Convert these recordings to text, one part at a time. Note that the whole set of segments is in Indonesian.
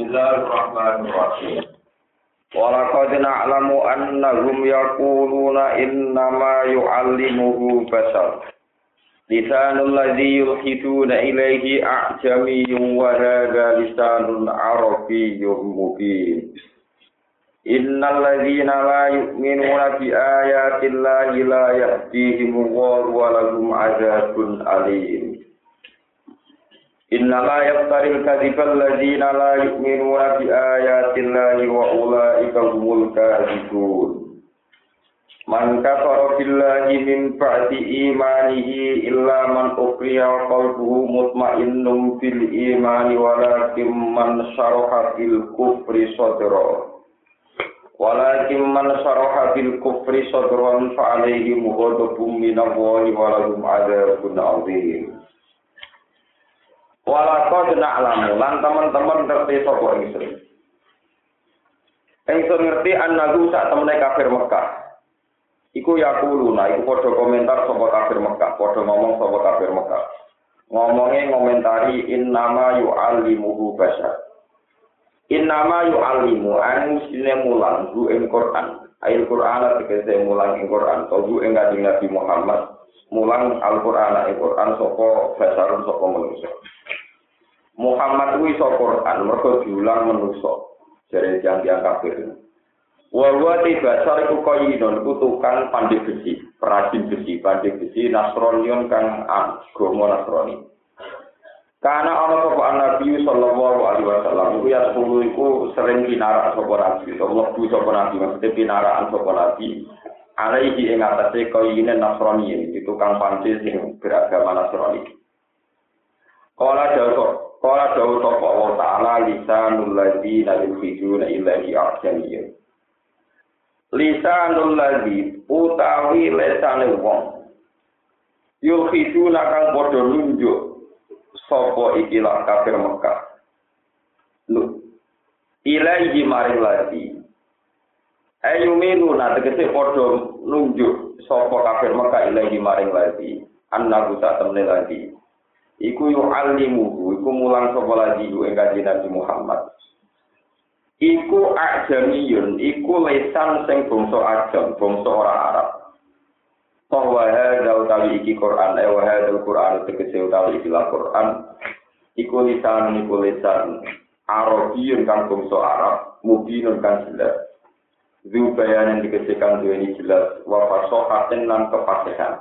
Bismillahirrahmanirrahim. Walaqad na'lamu annahum yaquluna innama yu'allimuhu bashar. Lisanul ladzi yulhiduna ilayhi a'jamiyyun wa hadha lisanun arabiyyun mubin. Innal ladzina la yu'minuna bi ayati llahi la yahdihimullahu wa lahum 'adzabun alim. Innama yaftaril kadzibal ladzina la yu'minuna bi ayati llahi wa ulaika humul kadzibun. Man kafara billahi min ba'di imanihi illa man ukriha wa qalbuhu mutmainnun bil imani walakin man syaraha bil kufri sadra. Walakin man syaraha bil kufri sadran fa alaihim ghadabun minallahi wa lahum 'adzabun 'adzim. Walaqad na'lamu lan teman-teman ngerti sapa ingsun. Ingsun ngerti annahu sak temene kafir Mekah. Iku yaquluna iku padha komentar sapa kafir Mekah, padha ngomong sapa kafir Mekah. Ngomonge ngomentari innama yu'allimuhu bashar. Innama yu'allimu anusine mulang hu ing Quran. Ayat Quran tegese mulang ing Quran, hu ing Kanjeng Nabi Muhammad mulang Al-Qur'an ing Quran sapa basarun sapa manusa. Muhammad kuwi iso Quran mergo diulang manusa. Jare tiyang kafir. Wa basar iku koyinon tukang pandai besi, perajin besi, pandai besi Nasronion kang agama Nasrani. Karena ana sapa Nabi sallallahu alaihi wasallam iku ya sepuluh iku sering pinarak sapa Nabi, Allah bu sapa Nabi maksudnya pinarakan sapa Nabi. Alaihi ing atase koyine Nasrani itu tukang pandai sing beragama Nasrani. Kala dawuh sapa Allah Ta'ala lisanul ladzina yukhrijuna ilaihi a'jamiyyun. Lisanul ladzi utawi lesane wong yukhrijuna kang padha nunjuk sapa ikilah kafir Mekah. Ilaihi maring ladzi ayumiluna tegese padha nunjuk sapa kafir Mekah ilaihi maring ladzi annahu ta'tamne ladzi iku yu'allimuhu iku mulang sapa ladzi ing Kanjeng Nabi Muhammad. Iku ajamiyun, iku lesan sing bangsa ajam, bangsa ora Arab. Bahwa hadza utawi iki Quran, wa hadzal Quran tegese utawi iki Quran. Iku lisan Arabiyun kang bangsa Arab, mubinun kang jelas. Zubayan tegese kang duweni jelas, wa fasahaten lan kefasihan.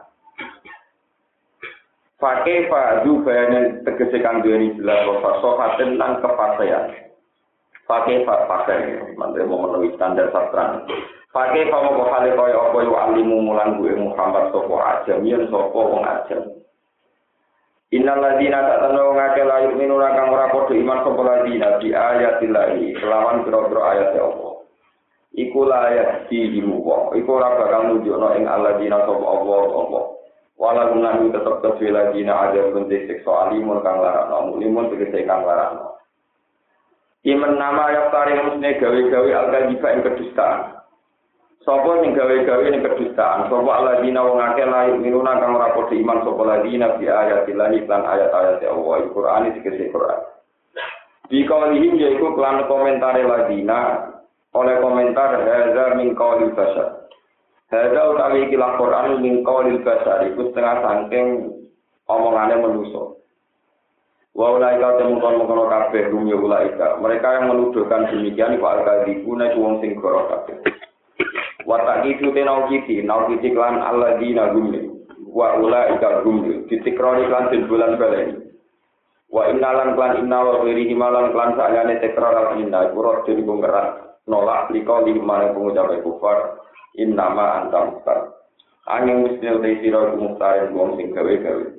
Fakefa zubayan tegese kang duweni jelas, wa fasahaten lan kefasihan. Pakai mantre memenuhi standar sastra. Pakai mau hale kaya apa yo alimu mulang gue Muhammad sapa ajamian sapa wong ajam. Innal ladina ta'tanu ngake layu minuna kang ora padha iman sapa ladina di ayatillahi kelawan pira-pira ayat Allah. Iku layak dihimu wong. Iku ora bakal nunjukno ing alladina sapa Allah. Wala gunan tetep kesuwi ladina ada bentuk seksual alimun kang larang, limun tegese kang larang. Iman nama yang tarik musne gawe-gawe al-kadhiba ing kedustaan. Sapa sing gawe-gawe ing kedustaan? Sapa alladzina wong akeh layu minuna kang ora padha iman sapa alladzina bi ayatillah lan ayat-ayat Allah Al-Qur'an iki Quran. Di kaulihim yaiku kelan komentare alladzina oleh komentar hadza min qaulil bashar. Hadza utawi iki Al-Qur'an min qaulil bashar iku setengah saking omongane manusa. Wa ulaika temukan kabeh rumya ulaika. Mereka yang menuduhkan demikian iku al-kadzibuna iku wong sing goro kabeh. Wa taqitu tenauqiti lan alladzina gumli. Wa ulaika gumli ditikroni lan bulan baleni. Wa innalan lan inna wa ghairihi malan lan salane tekrar al-inna kurang dene ngerak nolak likali marang pengucap kufar innama anta mustar. Angin musnil te sira kumustare wong sing gawe-gawe.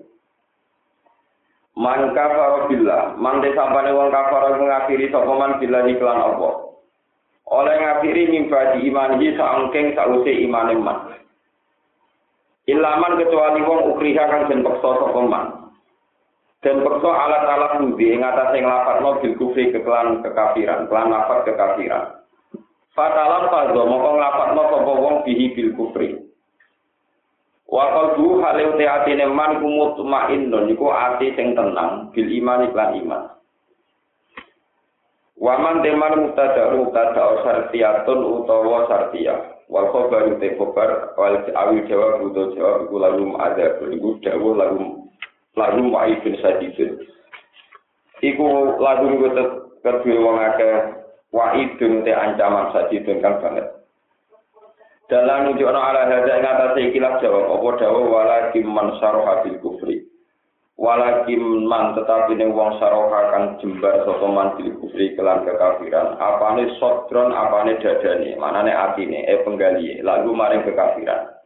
Man kafara billah, man desapane wong kafara ngakhiri sapa man billah iklan apa. Oleh ngakhiri mimpi iman iki saengking sause imane man. Ilaman kecuali wong ukriha kang den peksa sapa man. Den peksa alat-alat budi ing atase nglapatno bil kufri kekelan kekafiran, kelan lafat kekafiran. Fatalan fadho moko nglapatno sapa wong bihi bil kufri. Wa qalbu hale atine man kumutmainnun iku ati sing tenang bil iman iklan iman. Waman teman mubtada sartiyatun utawa sartiyah. Wal khabaru te khabar wal awil jawab utawa jawab iku lagu ada iku dawuh lagu wa'idun sadidun. Iku lagu kedue wong akeh wa'idun te ancaman sadidun kang banget. Dalam nunjukna ala hadza ing atase ikilah jawab apa dawuh walakin man syaraha bil kufri. Walakin man tetapi ning wong syaraha kang jembar sapa man bil kufri kelan kekafiran. Apane sodron apane dadane, manane atine penggalihe lagu maring kekafiran.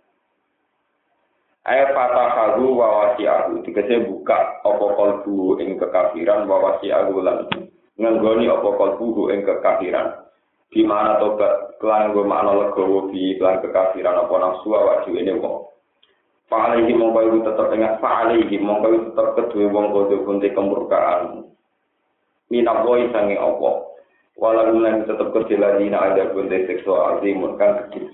Fatahahu wa wasi'ahu dikese buka apa kalbu ing kekafiran wa wasi'ahu lan nganggoni apa kalbu ing kekafiran. Di mana tobat kelan go makna legowo di kelan kekafiran apa nafsu awak dhewe ne wong. Fa'alaihi mongko tetep ingat fa'alaihi mongko tetep kedue wong kudu kunti kemurkaan. Minapoi sange apa. Walau lan tetep kedue ladina ada kunti seksual azimun kan kecil.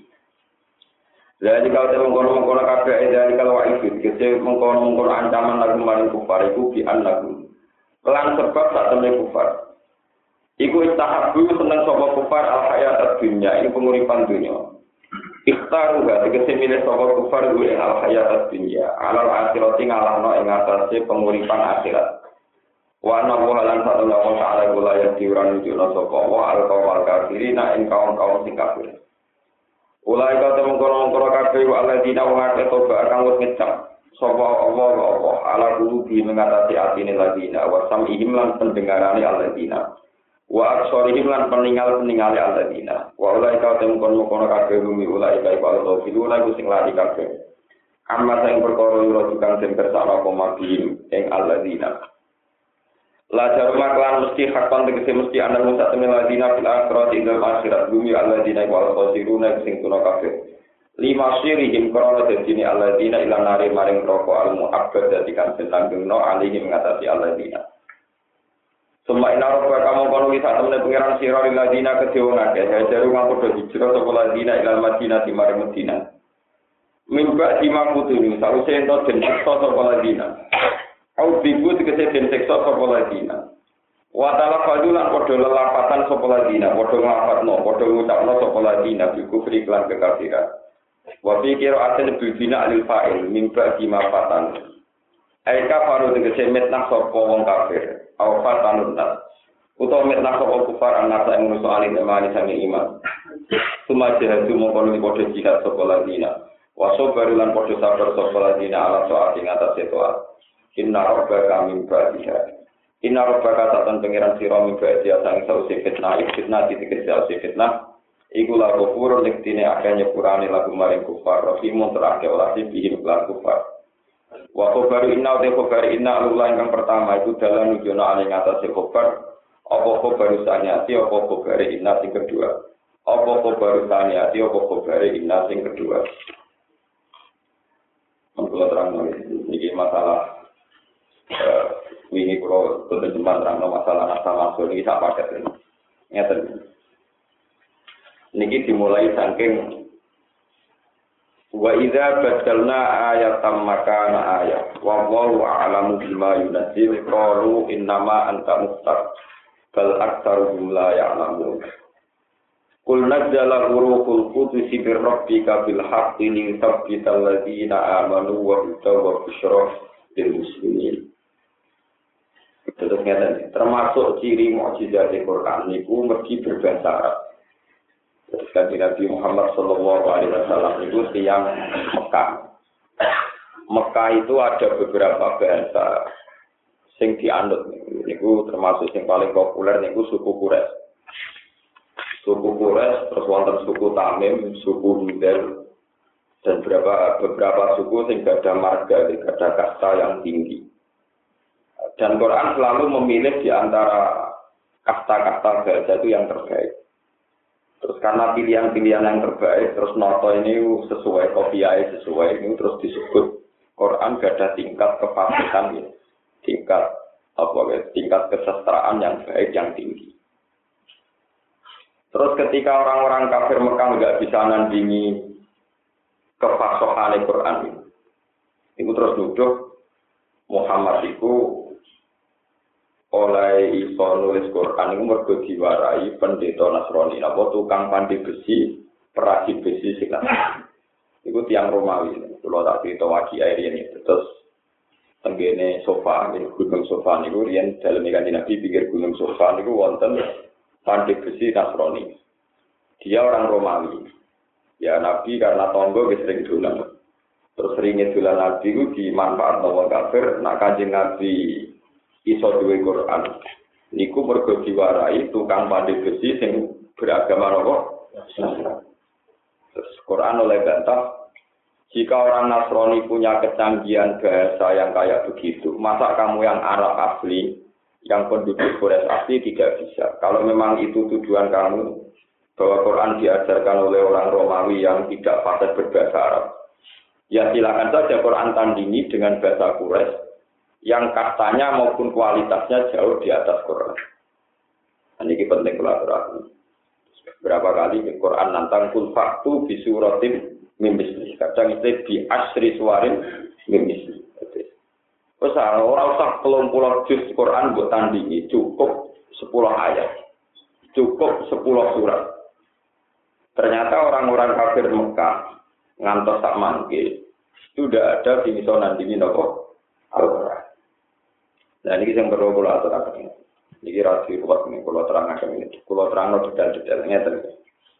Jadi kalau saya mengkono-mengkono kabeh dari kalau wa'id kese mengkono-mengkono ancaman lagu maring kufar iku bi annakum. Kelan sebab sak temne kufar. Iku istahabu seneng sapa kufar al hayat dunya ini penguripan dunya. Ikhtaru ga tegese milih sapa kufar kuwi al hayat dunya alal akhirati ngalahno ing atase penguripan akhirat. Wa anna lan sallallahu ta'ala kula ya diuran nunjukna sapa wa al qawl kafirina ing kaum sing kafir. Ulai kau mengkono-mengkono kabeh wa alladzina wa akeh toba kang wis ngecap sapa Allah ala qulubi mengatasi atine ladina wa sam'ihim lan pendengarane alladzina. Wa absorihim lan peninggal-peningale alladzina. Wa ulai ka temukon-mukon kabeh bumi ulai ka iku filuna iku sing lari kabeh. Amma sing perkara ora tukang den kersane apa mabihim ing alladzina. La jarma klan mesti hakon tegese mesti ana musa temen alladzina fil akhirati ing akhirat bumi alladzina wa al-khasiruna sing tuna kabeh. Lima sirihim krana dadine alladzina ila nari maring roko al-mu'abbad dadi kan langgengno alihim ngatasi alladzina. Suma ina roba kamu kono wis atemne pangeran sira liladina kedhe akeh hajaru kang padha hijrah sapa ladina ila Madinah di mari Madinah. Mimba dimangkutuni sawise ento den siksa sapa ladina. Au dibu tegese den siksa sapa ladina. Wa ta'ala fadulan padha lelapatan sapa ladina, padha nglafatno, padha ngucapno sapa ladina bi kufri lan kekafiran. Wa fi qira'atin bil bina lil fa'il mimba dimafatan. Aika faru tegese metnah sapa wong kafir. Awfat tanunat utawa metnak sapa kufar anak ing manusa alim temani sange iman sumaje hadu mongkon padha jihad sapa ladina waso barulan padha sabar sapa ladina ala saat ing atase toat inna rabbaka min ba'diha inna rabbaka satan pangeran sira min ba'diha sang sause fitnah dikese sause fitnah iku la kufur lektine akeh nyepurane lagu maring kufar rahimun terake olah bihim lan kufar. Wa khabar inna wa khabar inna Allah yang pertama itu dalam nujuna aling atas khabar apa khabar saniati apa khabar inna sing kedua apa khabar saniati apa khabar inna sing kedua. Mengko terang iki masalah wingi kula terjemah terang masalah asal iki sak paket ngeten niki dimulai saking wa idza badalna ayatan makana ayat wa wallahu a'lamu bima yunzil qalu innama anta muftar bal aktsaruhum la ya'lamun qul nazzala ruhul qudus bi rabbika bil haqqi li thabbital ladzina amanu wa hudaw busyra lil muslimin. Terus termasuk ciri mukjizat Al-Qur'an niku mergi berbahasa Arab. Ketika Nabi Muhammad Sallallahu Alaihi Wasallam itu tiang Mekah. Mekah itu ada beberapa bahasa sing dianut. Niku termasuk yang paling populer niku suku Quraisy. Suku Quraisy terus wonten suku Tamim, suku Hudel dan beberapa suku sing ada marga, ada kasta yang tinggi. Dan Quran selalu memilih di antara kasta-kasta bahasa itu yang terbaik. Terus karena pilihan-pilihan yang terbaik, terus noto ini sesuai, kopiah sesuai, ini terus disebut Quran gada tingkat kefasihan, ya. tingkat kesestraan yang baik, yang tinggi. Terus ketika orang-orang kafir Mekah nggak bisa nandingi kefasohan Quran itu terus nuduh Muhammad itu oleh iso nulis Quran iku mergo diwarai pendeta Nasrani apa tukang pandai besi perasi besi sing iku tiyang Romawi kula tak crito wagi air ini terus tenggene sofa gunung sofa niku riyen dalem Kanjeng Nabi pinggir gunung sofa niku wonten pandai besi Nasrani dia orang Romawi ya Nabi karena tonggo wis sering dolan terus seringnya dolan Nabi ku dimanfaatno wong kafir nak Kanjeng Nabi iso duwe Quran niku mergo diwarai tukang pandai besi sing beragama apa terus Quran oleh bantah jika orang Nasrani punya kecanggihan bahasa yang kayak begitu masa kamu yang Arab asli yang penduduk Quraisy asli tidak bisa kalau memang itu tujuan kamu bahwa Quran diajarkan oleh orang Romawi yang tidak fasih berbahasa Arab ya silakan saja Quran tandingi dengan bahasa Quraisy yang kastanya maupun kualitasnya jauh di atas Quran. Ini penting kolaborasi. Berapa kali di Quran nantang kul faktu bisuratim mimisli. Kadang itu di asri suarin mimisli. Terus orang usah 30 juz Quran buat tandingi cukup 10 ayat, cukup 10 surat. Ternyata orang-orang kafir Mekah ngantos tak mangke sudah ada di misalnya nandingi nopo Al-Quran. Nah ini yang perlu kalau aturakan ini. Ini rasi buat ini kalau terangkan ini. Kalau terang detail-detailnya terus.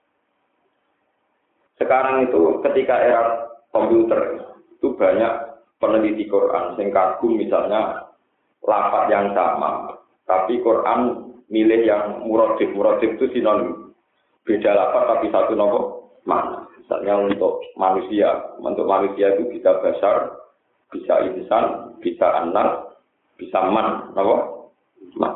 Sekarang itu ketika era komputer itu banyak peneliti Quran yang kagum misalnya lafaz yang sama, tapi Quran milih yang muradif. Muradif itu sinonim. Beda lafaz tapi satu nopo mana. Misalnya untuk manusia itu bisa basar, bisa insan, bisa anak, bisa man, apa? Man.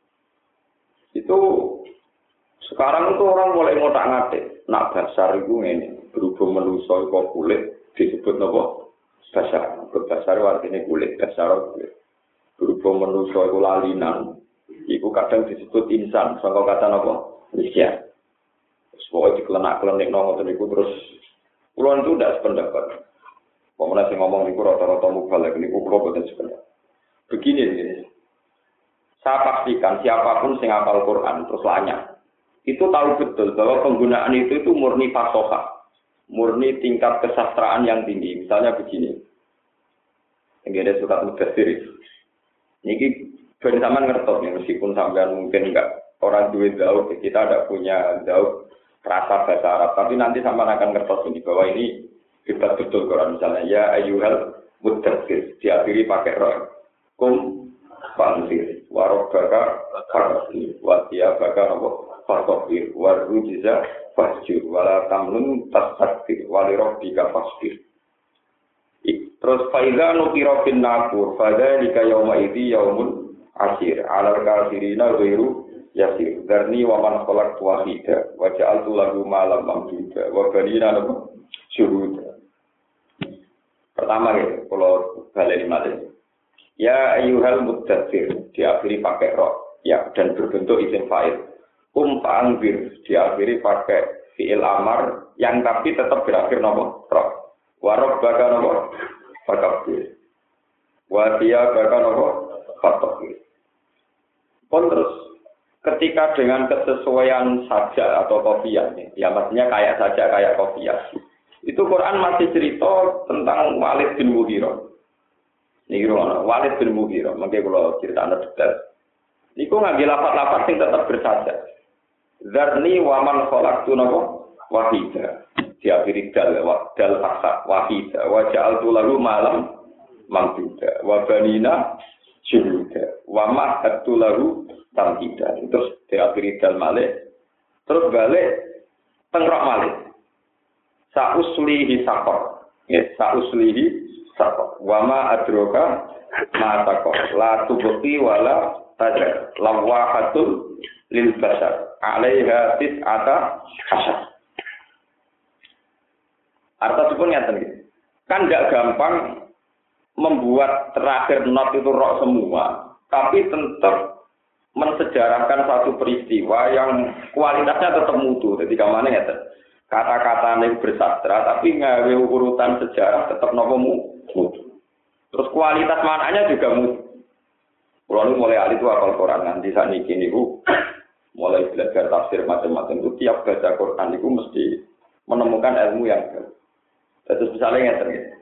Itu sekarang itu orang mulai ngotak-ngatik. Nak basar itu ini berhubung manusia kok kulit disebut apa? Basar. Basar artinya kulit, basar kulit. Berhubung manusia itu lalinan, itu kadang disebut insan. Sangka kata apa? Manusia. Pokoknya dikelenak-kelenik ngoten niku terus kula itu ndak sependapat. Pemenang sing ngomong niku rata-rata mubalek niku kula boten sependapat. Begini. Saya pastikan siapapun sing hafal Quran terus lanyah itu tahu betul bahwa penggunaan itu murni fasohah, murni tingkat kesastraan yang tinggi. Misalnya begini. Yang ada surat Mudaththir. Niki ben sampean ngertos nih meskipun sampean mungkin enggak orang duwe zauk, kita tidak punya zauk rasa bahasa Arab, tapi nanti sampean akan ngertos ini bahwa ini hebat betul Quran misalnya ya ayyuhal mudaththir diakhiri pakai ra kum fanzir warabaka farasir wa tiyabaka farqir warujiza fasjur wala tamnun tastakbir walirabbika fasbir. Terus faiza nukira fin naqur fadzalika yauma idzi yaumun asir alal kafirina ghairu yasir darni wa man khalaqtu wahida wa ja'altu lahu malam mamduda wa banina syuhuda. Pertama ya, kalau baleni malih. Ya ayyuhal mudaththir diakhiri pakai ra ya dan berbentuk isim fa'il. Fa'anzir diakhiri pakai fi'il amar yang tapi tetap berakhir nama ra. Wa rabbaka nama fakabbir. Wa tiyabaka nama fatakbir. Terus ketika dengan kesesuaian saja atau kopiah, ya maksudnya kayak saja kayak kopiah, itu Quran masih cerita tentang Walid bin Mughirah. Ini Walid bin Mughirah, makanya kalau cerita anda detail, itu ngambil lafaz-lafaz yang tetap bersaja. Zarni waman khalaqtu wahida, diakhiri dal faksa wahida, wa ja'altu lahu malam mamduda, wa banina syuhuda, wa mahadtu lahu tamhidan. Terus diakhiri dal malih, terus balik tengrok malih. Sa'uslihi saqar. Ya, sa'uslihi saqar. Wa ma adroka ma taqar. La tubqi wala tadar. Lawahatul lil basar. 'Alaiha tis'ata hasyar. Artinya pun ngeten iki. Kan enggak gampang membuat terakhir not itu roh semua, tapi tetap mensejarahkan satu peristiwa yang kualitasnya tetap mutu. Jadi kamane ngeten. Kata-kata yang bersastra tapi ngawe urutan sejarah tetap nopo mutu. Terus kualitas maknanya juga mutu. Kalau nu mulai alit itu hafal Quran nanti saat ini niku mulai belajar tafsir macam-macam itu tiap baca Quran itu mesti menemukan ilmu yang baru. Terus misalnya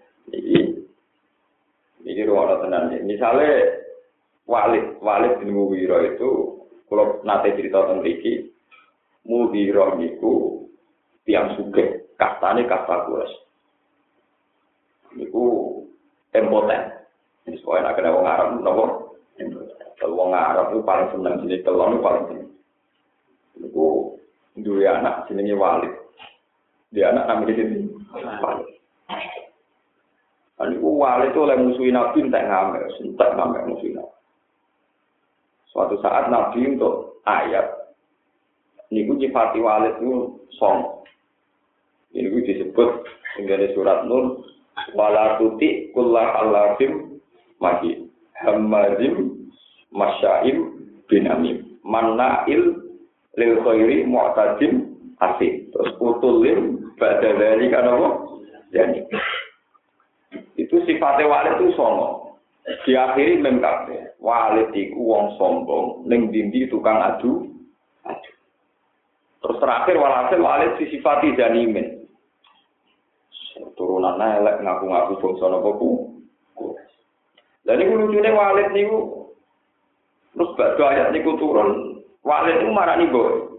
ini ruang tenan. Misalnya Walid bin Mughirah itu kalau nate cerita tentang iki Mughirah niku tiang sugih, kastane kasta Quraisy. Niku impoten. Ini soalnya nak kena wong Arab napa? Kalau wong Arab itu paling seneng jenis telon paling seneng. Niku duwe anak jenenge Walid. Dia anak namanya sini Walid. Niku Walid itu oleh musuhin Nabi entek ngamel musuhin Nabi. Suatu saat Nabi untuk ayat niku nyifati Walid itu song. Ini disebut menjadi surat Nur wala tuti kullah alafim mahi hamazim masyaim binamim manna'il lil khairi mu'tadim asih terus utulim ba'da dzalika apa yani itu sifatnya Walid itu songo diakhiri mem kabeh Walid iku wong sombong ning dindi tukang adu terus terakhir walhasil Walid disifati janimin turunan elek ngaku-ngaku bangsa napa ku. Lah niku lucune Walid niku terus badhe ayat niku turun Walid itu marani boy.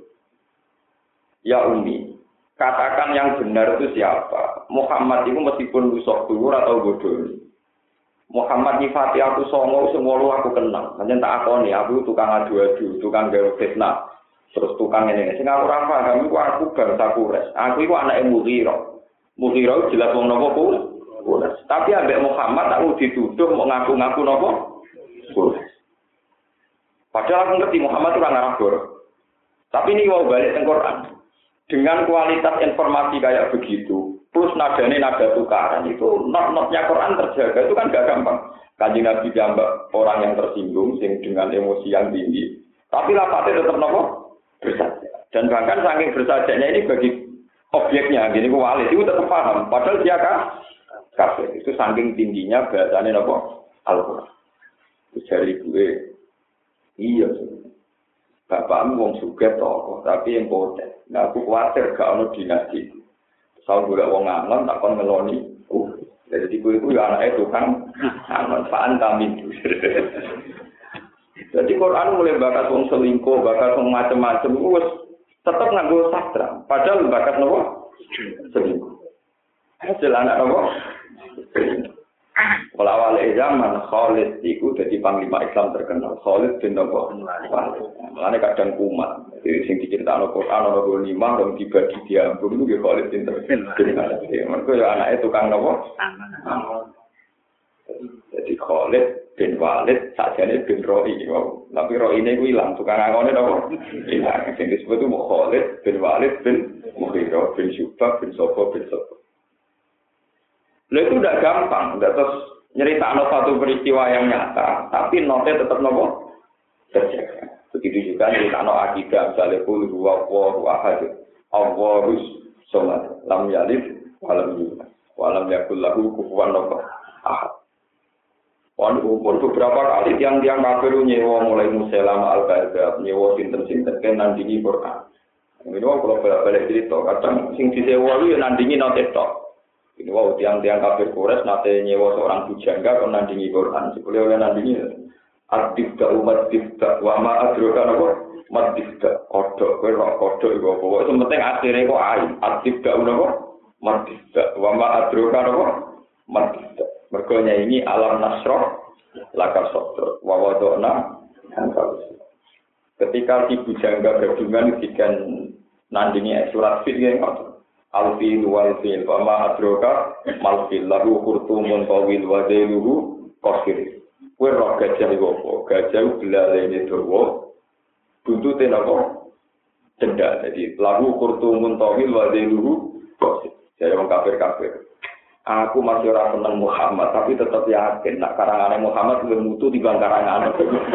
Ya Umi, katakan yang benar itu siapa? Muhammad itu meskipun rusuk dhuwur atau bodoh. Muhammad nyifati aku songo semua aku kenal. Pancen tak akoni aku tukang adu-adu, tukang gawe fitnah. Terus tukang ngene. Sing aku ora paham iku aku bangsa Quraisy. Aku iku anake Mughirah. Mughirah jelas wong napa Quraisy. Tapi ambek Muhammad aku dituduh mau ngaku-ngaku napa Quraisy. Padahal aku ngerti Muhammad itu ora ngarabur. Tapi ini mau balik teng Quran. Dengan kualitas informasi kayak begitu, plus nadanya nada tukaran itu not-notnya Quran terjaga itu kan gak gampang. Kanjeng Nabi diambak orang yang tersinggung sing dengan emosi yang tinggi. Tapi lapatnya tetap napa bersaja. Dan bahkan saking bersajanya ini bagi objeknya, gini ku Walid itu tetap paham. Padahal dia kafir. Itu saking tingginya bahasanya apa? Al-Quran. Itu dari gue, iya. Bapakmu wong sugih tokoh, tapi yang poten. Nah aku khawatir gak ono dinasti. Soal gue wong ngangon tak kon ngeloni. Jadi gue itu ya anaknya tukang ngangon. Paan kami. Jadi Quran mulai bakat wong selingkuh, bakat wong macam-macam. Wes tetap nganggo sastra. Padahal bakat nopo selingkuh. Hasil anak nopo. Awal zaman Khalid itu jadi panglima Islam terkenal. Khalid bin nopo. Mulane kadang kumat. Jadi sing diceritakno Quran ana 5 dong dibagi diambung itu Khalid bin terkenal. Mergo ya anake tukang nopo. Jadi Khalid bin Walid sajane bin Roi. Tapi Roi ini ku ilang tukang angone nopo. Ilang. Sing disebut itu Khalid bin Walid bin Mughirah bin Syu'bah bin Sofwa bin Sofwa. Lha itu udah gampang, udah terus nyeritakno satu peristiwa yang nyata, tapi notnya tetap nopo terjaga. Begitu juga nyeritakno akidah, misalnya qul huwallahu ahad, Allahus samad, lam yalid walam yulad, walam yakul lahu kufuwan ahad. Walaupun beberapa kali tiang-tiang kafir nyewa mulai Musailama al-Kadzdzab, nyewa sinten-sinten kan nandingi Quran. Ini kalau balik cerita, kadang sing disewa itu nandingi note tok. Ini wow tiang-tiang kafir Quraisy nate nyewa seorang bujangga kon nandingi Quran. Sebelum oleh nandingi adibda umat dibda wa ma adroka napa madibda kodok kowe ro kodok iku apa wae penting akhire kok ain adibda napa madibda wa ma adroka napa madibda mergo nyanyi alam nasroh lakar sodro wa wadona ketika si bujangga gadungan dikan nandingi surat fil yang ngoten Alfil wal fil wa ma adroka mal fil lahu khurtumun tawil wa dailuhu qasir. Kowe ro gajah iku apa? Gajah belalene dawa. Buntute napa? Cendak. Jadi lahu khurtumun tawil wa dailuhu qasir. Jadi wong kafir-kafir. Aku masih ora seneng Muhammad tapi tetap yakin nek karangane Muhammad luwih mutu timbang karangane.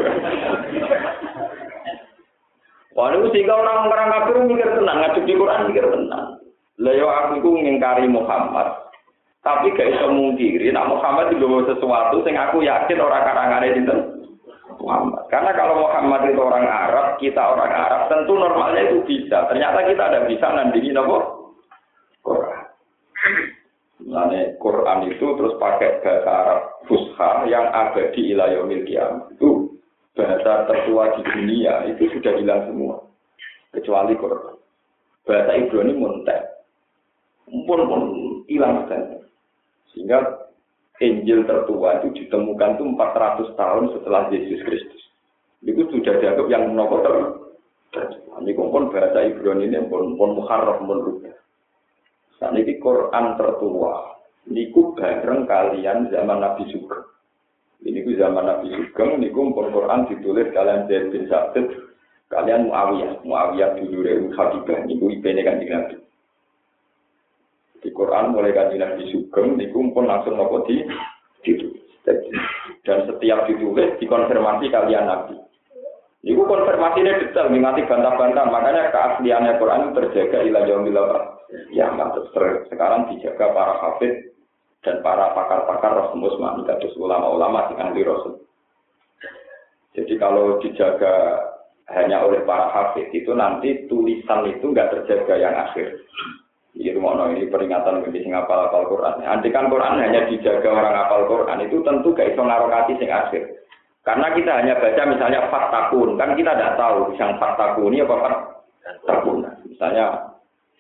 Wah, niku sing orang kafir mikir tenang, ngadep di Quran mikir tenang. Lah yo aku iku ngingkari Muhammad. Tapi gak iso mungkiri nek Muhammad digawa sesuatu sing aku yakin ora karangane sinten Muhammad. Karena kalau Muhammad itu orang Arab, kita orang Arab, tentu normalnya itu bisa. Ternyata kita ada bisa nandingin apa? Quran. Nah, Quran itu terus pakai bahasa Arab Fusha yang abadi ila yaumil qiyamah. Itu bahasa tertua di dunia, itu sudah hilang semua. Kecuali Quran. Bahasa Ibrani muntek. Pun hilang sekali. Sehingga Injil tertua itu ditemukan itu 400 tahun setelah Yesus Kristus. Itu sudah dianggap yang menopor tertua. Ini pun bahasa Ibrani ini pun muharraf pun rubah. Saat ini Quran tertua, niku bareng kalian zaman Nabi Sugeng. Ini ku zaman Nabi Sugeng, niku pun Quran ditulis kalian Zaid bin Sabit, kalian Muawiyah dulu dari Habibah, niku ipene kan Nabi. Di Quran mulai kan Nabi Sugeng, niku pun langsung nopo ditulis. Dan setiap ditulis dikonfirmasi kalian Nabi. Niku konfirmasinya detail, mengati bantah-bantah, makanya keasliannya Quran itu terjaga ila yaumil ya, sekarang dijaga para hafid dan para pakar-pakar Rasul Usmani, kados ulama-ulama di ahli Rasul. Jadi kalau dijaga hanya oleh para hafid itu nanti tulisan itu enggak terjaga yang akhir. Ini peringatan bagi sing hafal Quran. Andikan Quran hanya dijaga orang hafal Quran itu tentu gak iso ngarokati sing akhir. Karena kita hanya baca misalnya fatakun, kan kita tidak tahu yang fatakun ini apa fatakun. Misalnya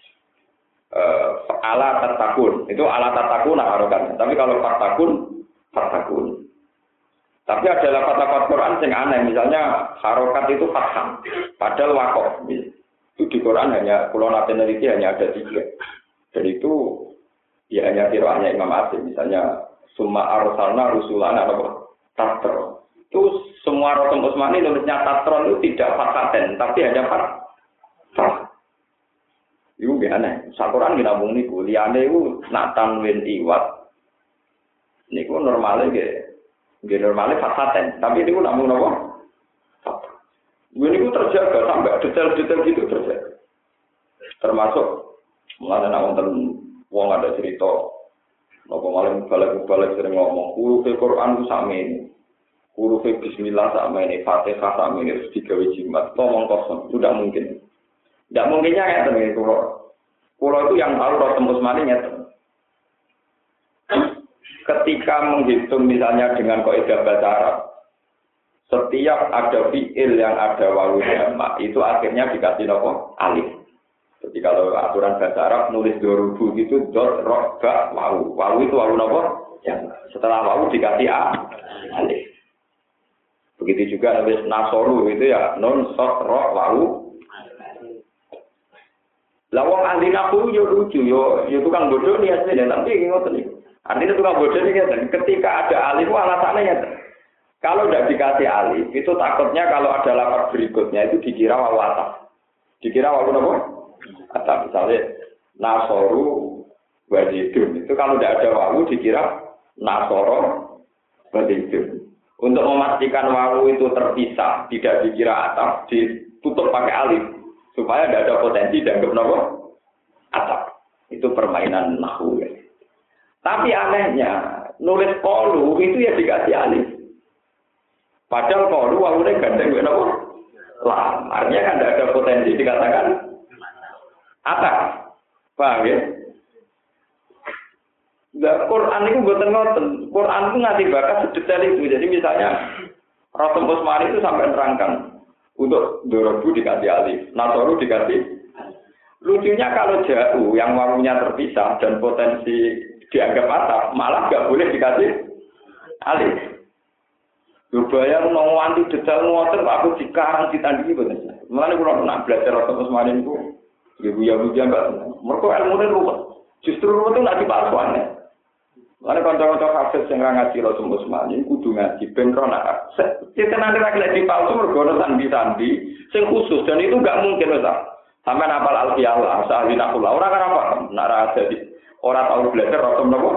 ala tatakun, itu ala tatakun harokan. Tapi kalau fatakun. Tapi ada lafaz-lafaz Quran yang aneh, misalnya harokat itu fathah, padahal wakof. Itu di Quran hanya pulau nasionaliti hanya ada 3. Dan itu ya hanya qiraatnya Imam Asim, misalnya summa arsalna rusulana apa tatron. Itu semua Rasul Utsmani nulisnya tatron itu tidak fasaten, tapi hanya fathah. Itu aneh. Sakuran kita ngomong niku, liyane iku nak tanwin iwat. Niku normale nggih normale fasaten, tapi niku namung napa? Fathah. Niku terjaga sampai detail-detail gitu terjaga. Termasuk mulane nek wonten wong ada cerita napa malah balik sering ngomong huruf Al-Qur'an ku sakmene. Huruf bismillah sakmene, Fatihah sakmene terus digawe jimat. Ngomong kosong, sudah mungkin. Tidak mungkinnya ngeten iki kula itu yang tahu Rasul Utsmani ngeten. Ketika menghitung misalnya dengan kaidah bahasa Arab, setiap ada fiil yang ada wawu jamak itu akhirnya dikasih nopo alif. Jadi kalau aturan bahasa Arab nulis dorubu itu dot ro ba wawu. Wawu itu wawu nopo? Yang setelah wawu dikasih alif. Begitu juga nulis nasoru itu ya nun sot ro wawu. Lah wong ahli nahwu yo lucu yo tukang bodoh nih asline tapi ngoten niku. Artinya tukang bodoh nih kan ketika ada alif alasannya ya. Kalau tidak dikasih alif itu takutnya kalau ada lafaz berikutnya itu dikira wawu ataf. Dikira wawu apa? Ataf misalnya nasoru wajidun itu kalau tidak ada wawu dikira nasoro wajidun. Untuk memastikan wawu itu terpisah tidak dikira ataf ditutup pakai alif. Supaya tidak ada potensi dianggap nopo atap. Itu permainan nahwu. Ya. Tapi anehnya, nulis qalu itu ya dikasih alif. Padahal qalu wawune gandeng kok nopo? Lam. Artinya kan tidak ada potensi dikatakan atap. Paham ya? Nah, Quran itu mboten ngoten. Quran itu nganti bakat sedetail itu. Jadi misalnya Rasul Utsmani itu sampai nerangkan untuk dorobu dikasih alif, nasoru dikasih. Lucunya kalau jauh yang wawunya terpisah dan potensi dianggap atap, malah nggak boleh dikasih alif. Bayang nong wanti detail ngoten aku dikarang ditandingi bener. Mulane kula nak belajar Rasul Utsmani niku ibu-ibu mbak. Mergo ilmune ruwet. Justru ruwet itu nak dipalsuane. Mulane kanca-kanca hafid sing ngaji Rasul Utsmani kudu ngaji ben ro nak. Cetenane ra kelek dipalsu mergo ono sandi-sandi sing khusus dan itu enggak mungkin lho, sampai hafal alfiyah lah, sahli nakulah. Ora kan apa? Nak ra jadi ora tahu belajar Rasul napa.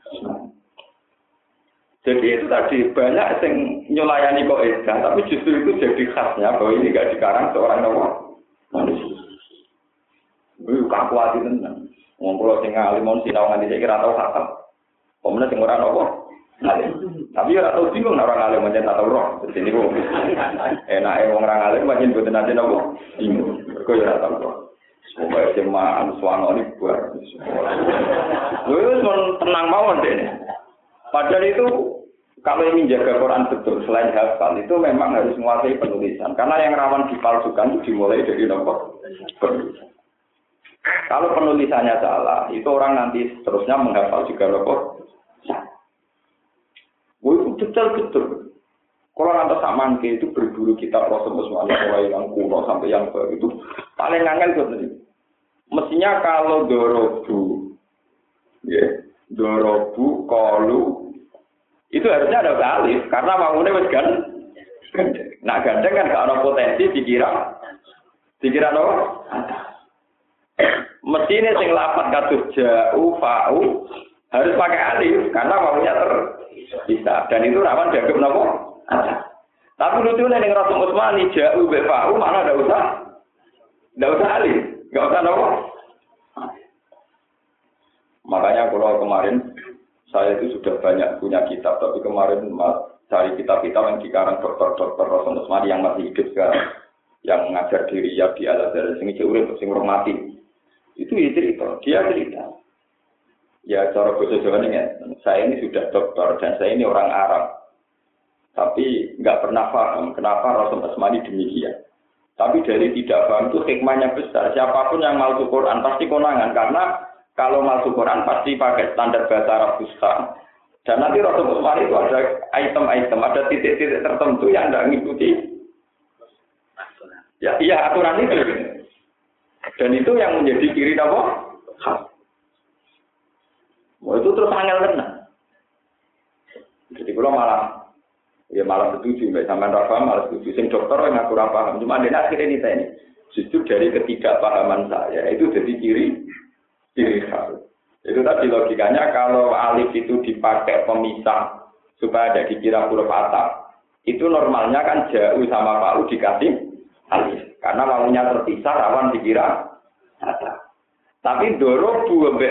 Jadi itu tadi banyak yang nyelayani kaidah, tapi justru itu jadi khasnya bahwa ini enggak dikarang seorang manusia. Itu kakuat itu tenan. Wong kula sing alimon sinau nganti saiki ora tau khatam. Pemenang sing ora napa Tapi ora tau bingung orang alim pancen tak tau roh. Dadi niku enake wong orang alim pancen boten nate napa bingung. Mergo ya ora tau roh. Semoga jemaah suwanoni buar. Wis tenang mawon dene. Padahal itu kalau ingin jaga Quran betul selain hafal itu memang harus menguasai penulisan. Karena yang rawan dipalsukan itu dimulai dari nomor penulisan. Kalau penulisannya salah, itu orang nanti seterusnya menghafal juga nomor. Itu betul-betul. Kalau nanti saman itu berburu kitab Rasulullah mulai yang kuno sampai yang baru itu paling angel betul. Mestinya kalau dorobu, ya, dorobu, kolu, itu harusnya ada alif karena bangunnya wis gandeng. Nah gandeng kan gak ada potensi dikira apa? Mestinya sing lapat kados ja'u, fa'u harus pakai alif karena bangunnya terpisah dan itu rawan dianggap apa? Tapi lucunya ning Rasul Utsmani ja'u, fa'u mana ndak usah alif. Enggak usah nopo. Makanya kalau kemarin saya itu sudah banyak punya kitab, tapi kemarin cari kitab-kitab yang dikarang dokter-dokter Rasul Utsmani yang masih hidup sekarang, yang mengajar di Riyadh di Al-Azhar, sing urip sing mati. Itu dia cerita. Ya cara bahasa Jawa ini, saya ini sudah dokter dan saya ini orang Arab. Tapi enggak pernah paham kenapa Rasul Utsmani demikian. Tapi dari tidak paham itu hikmahnya besar. Siapapun yang masuk Quran pasti konangan. Karena kalau masuk Quran pasti pakai standar bahasa Arab Fusha. Dan nanti Rasul Utsmani itu ada item-item, ada titik-titik tertentu yang tidak mengikuti. Ya, iya aturan itu. Dan itu yang menjadi ciri apa? Itu terus angel tenang. Jadi kalau malah setuju, mbak sampean rafa malah setuju. Sing dokter yang aku paham, cuma dia akhirnya ini justru dari ketidakpahaman saya itu jadi ciri khas. Itu tadi logikanya kalau alif itu dipakai pemisah supaya ada dikira huruf atap, itu normalnya kan jauh sama pau dikasih alif karena maunya terpisah rawan dikira atap. Tapi dorobu mbek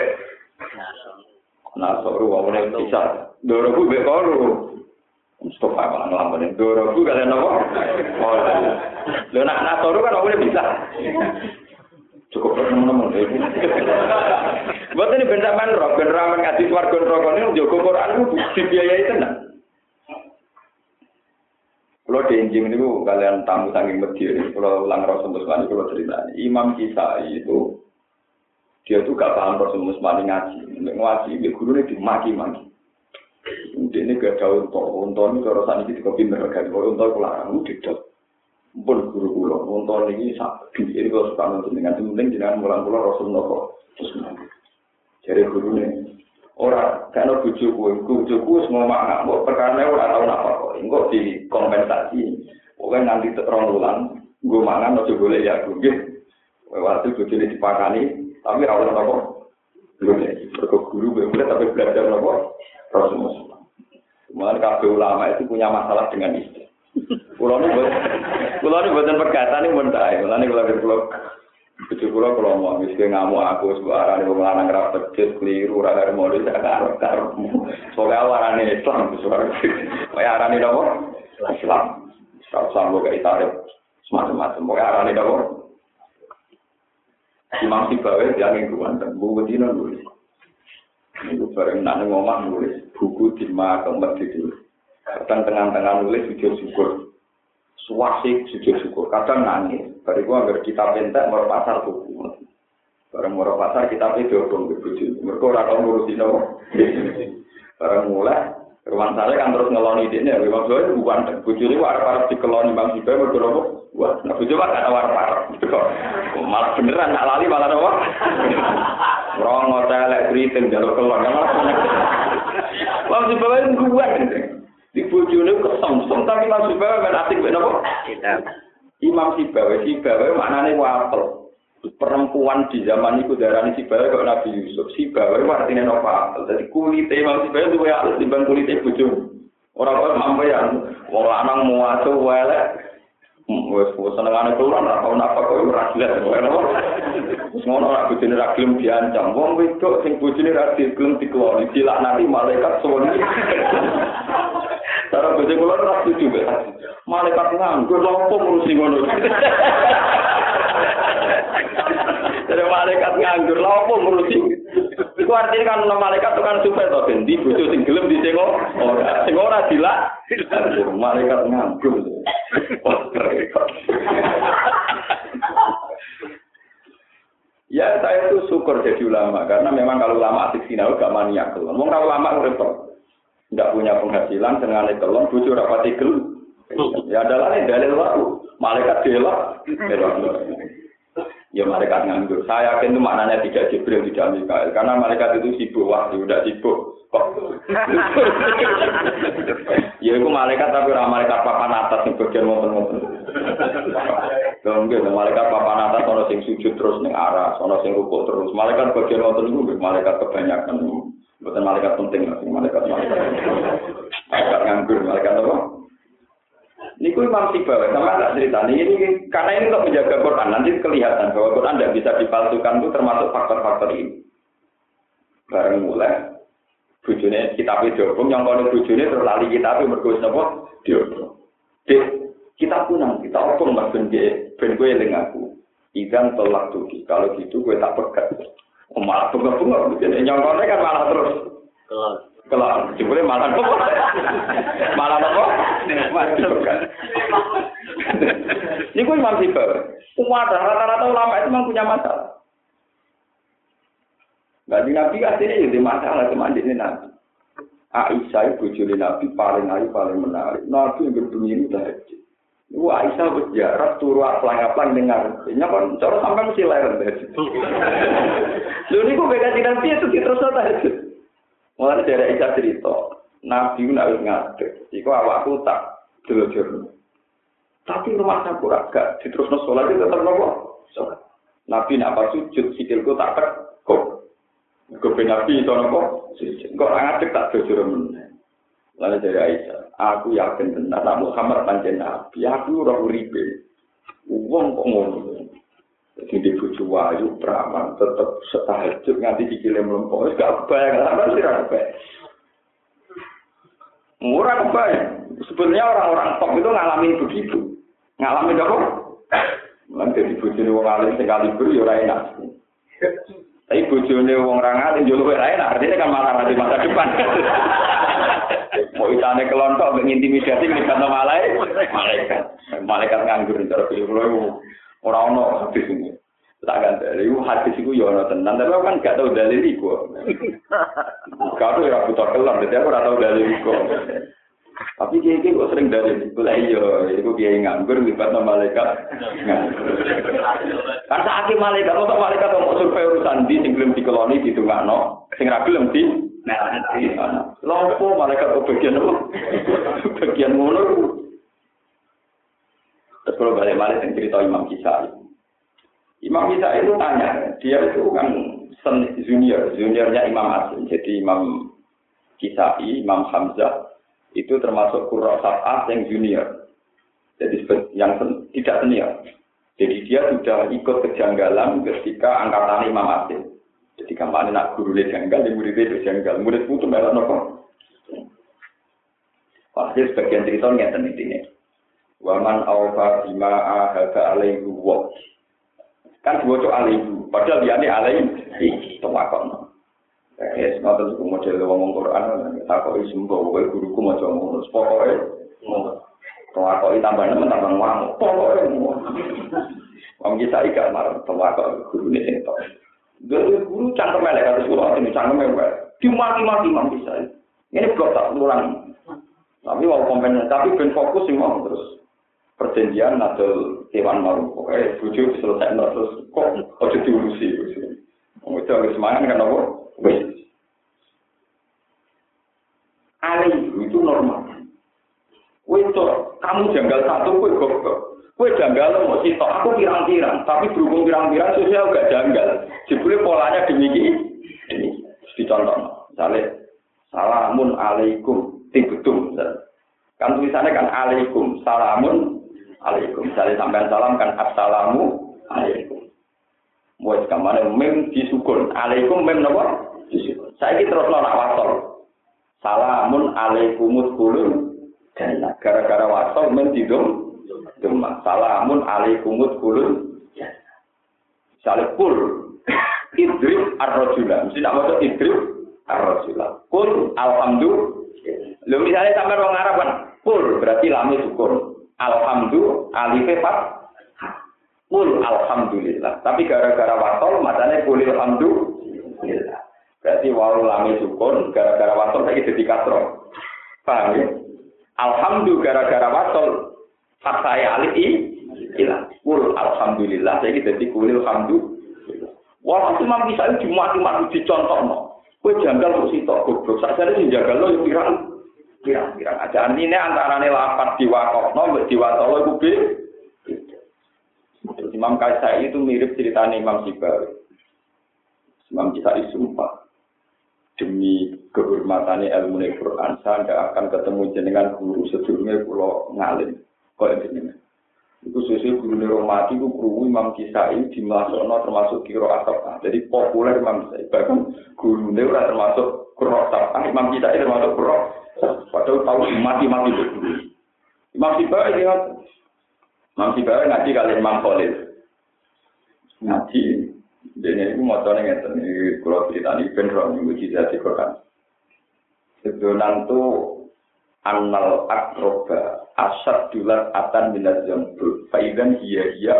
nasoru wawune bisa dorobu mbek koru. Stop apa ngelampain dorobu kalian apa? Oh, lo nak nasoru kan aku bisa. Cukup teman-teman. Buat ini benda manrok, benda ramen ngaji warga rokok ini jogo Quran itu dibiayai tenang. Kalau diinjing ini kalian tamu saking Medina, kalau ulang Rasul Musmani kalau cerita Imam Kisai itu dia tuh gak paham Rasul Musmani ngaji, dia gurunya dimaki-maki. Ini gak jauh untuk ini kalau saat ini kita pindah ke untuk pulang tidak pun guru ini sakit ini kalau suka nonton dengan penting jangan pulang Rasul Musmani jadi gurunya orang karena bujuku semua makna perkara orang tahu apa kok enggak dikompensasi pokoknya nanti terang ulang gue mangan atau boleh ya gue waktu bujuknya dipakani tapi awal apa guru boleh tapi belajar apa Rasul Musmani. Mulai kabeh ulama itu punya masalah dengan istri. Kulo ini buatan perkataan ini mentai. Mulai kalau mau miskin ngamuk aku sebuah arane pemelanang rapat keliru raga modis agak karepmu. Soalnya warane Islam suara. Kayak arane apa? Islam. Islam kok itarik semacam-macam. Kayak arane apa? Imam Sibawi yang ingkuan dan buku dino nulis. Itu bareng nak ngomong nulis buku di tempat itu. Kadang tengah-tengah nulis sujud syukur, suasik sujud syukur. Kadang nangis. Bariku agar kita pentek mau pasar buku. Bareng mau pasar kita pedodong ke buju. Mereka orang ngurusin apa? Bareng mulai. Ruang saya kan terus ngeloni ini. Memang saya bukan buju ini warna dikeloni bang Sibai berapa? Wah, nah buju kan ada warna. Malah beneran nak lali malah apa? Rong ngotelek briting jalur keluar malah. Bang Sibai itu kuat. Di bojone kesemsem tapi Imam Sibawi ben asik ben apa? Kitab. Imam Sibawi maknane wapel. Perempuan di zaman iku darani Sibawi kok Nabi Yusuf. Sibawi artine apa? Dadi kulite Imam Sibawi duwe alus timbang kulite bojone. Ora kok mampu ya wong lanang muatu elek. Wes senengane keluar ora tau napa kok ora jelas kok apa. Terus ngono ora bojone ra gelem diancam. Wong wedok sing bojone ra gelem dikeloni dilaknati malaikat suwun. Cara bojo kula ora setuju kok. Malaikat nganggur lha opo ngurusi ngono. Dari malaikat nganggur lha opo ngurusi. Iku artinya kan malaikat itu kan supaya to ben di bojo sing gelem disengok ora. Sing ora dilak malaikat nganggur. Ya saya itu syukur jadi ulama karena memang kalau ulama asik sinau gak maniak kelon. Wong kalau ulama repot. Enggak punya penghasilan dengan kelon bojo ora pati gelem. Ya adalah dalil wae. Malaikat delok. Ya malaikat nganggur. Saya yakin itu maknanya tidak Jibril, tidak Mikael. Karena malaikat itu sibuk, wah sudah sibuk. Kok? Ya itu malaikat tapi orang malaikat papan atas yang bagian ngoten-ngoten. Kemudian malaikat papan atas ono sing sujud terus ning arah, ono sing rukuk terus. Malaikat bagian ngoten niku malaikat kebanyakan. Bukan malaikat penting, malaikat. Malaikat nganggur, malaikat apa? Niku Imam Sibawi sama tak cerita ini karena ini untuk menjaga Quran nanti kelihatan bahwa Quran tidak bisa dipalsukan itu termasuk faktor-faktor ini. Bareng mulai bujune kitab diobong yang kalau bujune terus lali kitab mergo napa diobong. Dek kita punang kita obong Mas ben gue eling aku. Ikan tolak tuki kalau gitu gue tak pegat. Oh, malah bunga-bunga begini nyongkone kan malah terus. Kalau jebule malah apa? Malah apa? Ini gue Imam Sibawi. Umat rata-rata ulama itu memang punya masalah. Nabi aslinya jadi masalah cuma di Nabi. Aisyah bojone Nabi paling ayu paling menarik. Nabi yang berbunyi ini tahajud. Ibu Aisyah berjarak turu aplang-aplang dengar. Nya kan cara sampai mesti leren tahajud. Lho niku beda Nabi itu terus tahajud. Mulai dari Aisyah cerita, Nabi nak ngadeg, iku awakku tak delojor. Tapi rumah sampur agak diterusno salat itu tetep nopo? Salat. Nabi nak pas sujud sikilku tak kok. Kok Nabi itu nopo? Sujud. Kok ngadeg tak delojor meneh. Lalu dari Aisyah, aku yakin benar Muhammad pancen Nabi, aku ora uripe. Wong kok ngono. Jadi bojo wayu praman tetep setahajud nganti sikile mlempok wis gak kebayang sampeyan sira kebayang. Murah kebayang. Sebenarnya orang-orang top itu ngalamin begitu. Ngalamin apa? Lan dadi bojone wong alim sing kaliber ya ora enak. Tapi bojone wong ra ngalim yo luwih enak, artinya kan malah di masa depan. Mau itane kelontok mengintimidasi libat malaikat. Malaikat nganggur cara piye ora ono hadis ini. Tak gandel iku hadis iku ya ono tenan, tapi kan gak tau dalil iku. Kalau ora butuh kelam, dadi aku ora tau dalil iku. Tapi kiye-kiye kok sering dalil iku lha iya, iku kiye nganggur libat malaikat. Kan saiki malaikat kok malaikat kok survei urusan di sing gelem dikeloni ditungakno, sing ra gelem di Lompo malaikat kok bagian apa? Bagian ngono. Terus kalau balik-balik yang cerita Imam Kisai. Imam Kisai itu tanya, dia itu kan juniornya Imam Asim. Jadi Imam Kisai, Imam Hamzah, itu termasuk Qurra Sab'ah yang junior. Jadi yang tidak senior. Jadi dia sudah ikut kejanggalan ketika angkatan Imam Asim. Jadi kampanye nak guru janggal, dia muridnya itu janggal. Murid itu melok nopo. Pasti sebagian cerita ngeten ini. Waman awfa bima ahada alaihi wa. Kan diwaca alaihi, padahal dia ini alaihi tawakon. Ngoten iku model wong Quran takoki sembo kowe guruku maca ngono. Pokoke takoki tambah nemen tambah wong. Pokoke wong kita iki marang tawakon gurune sing tok. Dhewe guru cangkem elek karo sekolah ini cangkem elek. Dimaki-maki Imam bisa. Ini blok tak ulang. Tapi wong kompen tapi ben fokus sing mau terus. Perjanjian atau Dewan Maru, pokoknya bujuk diselesaikan terus kok ojo diurusi. Itu agak semangat kan apa? Wes. Ali itu normal. Itu kamu janggal satu, kue goblok. Kue janggal mau sitok, aku pirang-pirang, tapi berhubung pirang-pirang sosial gak janggal. Jebule polanya demikian. Ini dicontoh. Misalnya, salamun alaikum, tibetum. Kan tulisannya kan alaikum, salamun alaikum. Misalnya sampai salam kan assalamu alaikum. Wes kamane mem disukun. Alaikum mem napa? Disukun. Saiki terus nak wasol. Salamun alaikumut kulun. Gara-gara wasol mem didum. Salamun alaikumut kulun. Salipul. Idrib ar-rajula. Mesti nak maca idrib ar-rajula. Kul alhamdulillah. Lho misale sampean wong Arab kan, kul berarti lame syukur. Alhamdulillah alife fat. Kul alhamdulillah. Tapi gara-gara wasol macane kul alhamdulillah. Berarti wawu lame syukur gara-gara wasol saiki dadi kasro. Paham ya? Alhamdulillah gara-gara wasol fat saya alif ilah. Kul alhamdulillah saiki dadi kul alhamdulillah. Wah, Imam bisa dimati-mati dicontohno. Kowe janggal kok sitok goblok. Sakjane sing jagalno yo pirang-pirang. Aja anine antarane lapat diwakofno mbek diwatolo iku Imam Kaisai itu mirip ceritanya Imam Sibawi. Imam Kaisai sumpah demi kehormatannya ilmu Quran saya tidak akan ketemu jenengan guru sedurunge kula ngalim kok jenengan. Iku sesuai guru Romati itu guru Imam Kisai di Malasona termasuk Kiro Asapah. Jadi populer Imam Kisai. Bahkan guru ini ora termasuk Kiro Asapah. Imam Kisai termasuk Kiro. Padahal tahu mati-mati guru. Imam Sibawi ingat. Imam Sibawi ngaji kali Imam Khalil. Ngaji. Jadi itu motornya ngeten. Kalau ceritanya beneran mujizat di Quran. Sebenarnya itu annal akroba asad dulat atan minat jambul faidan iya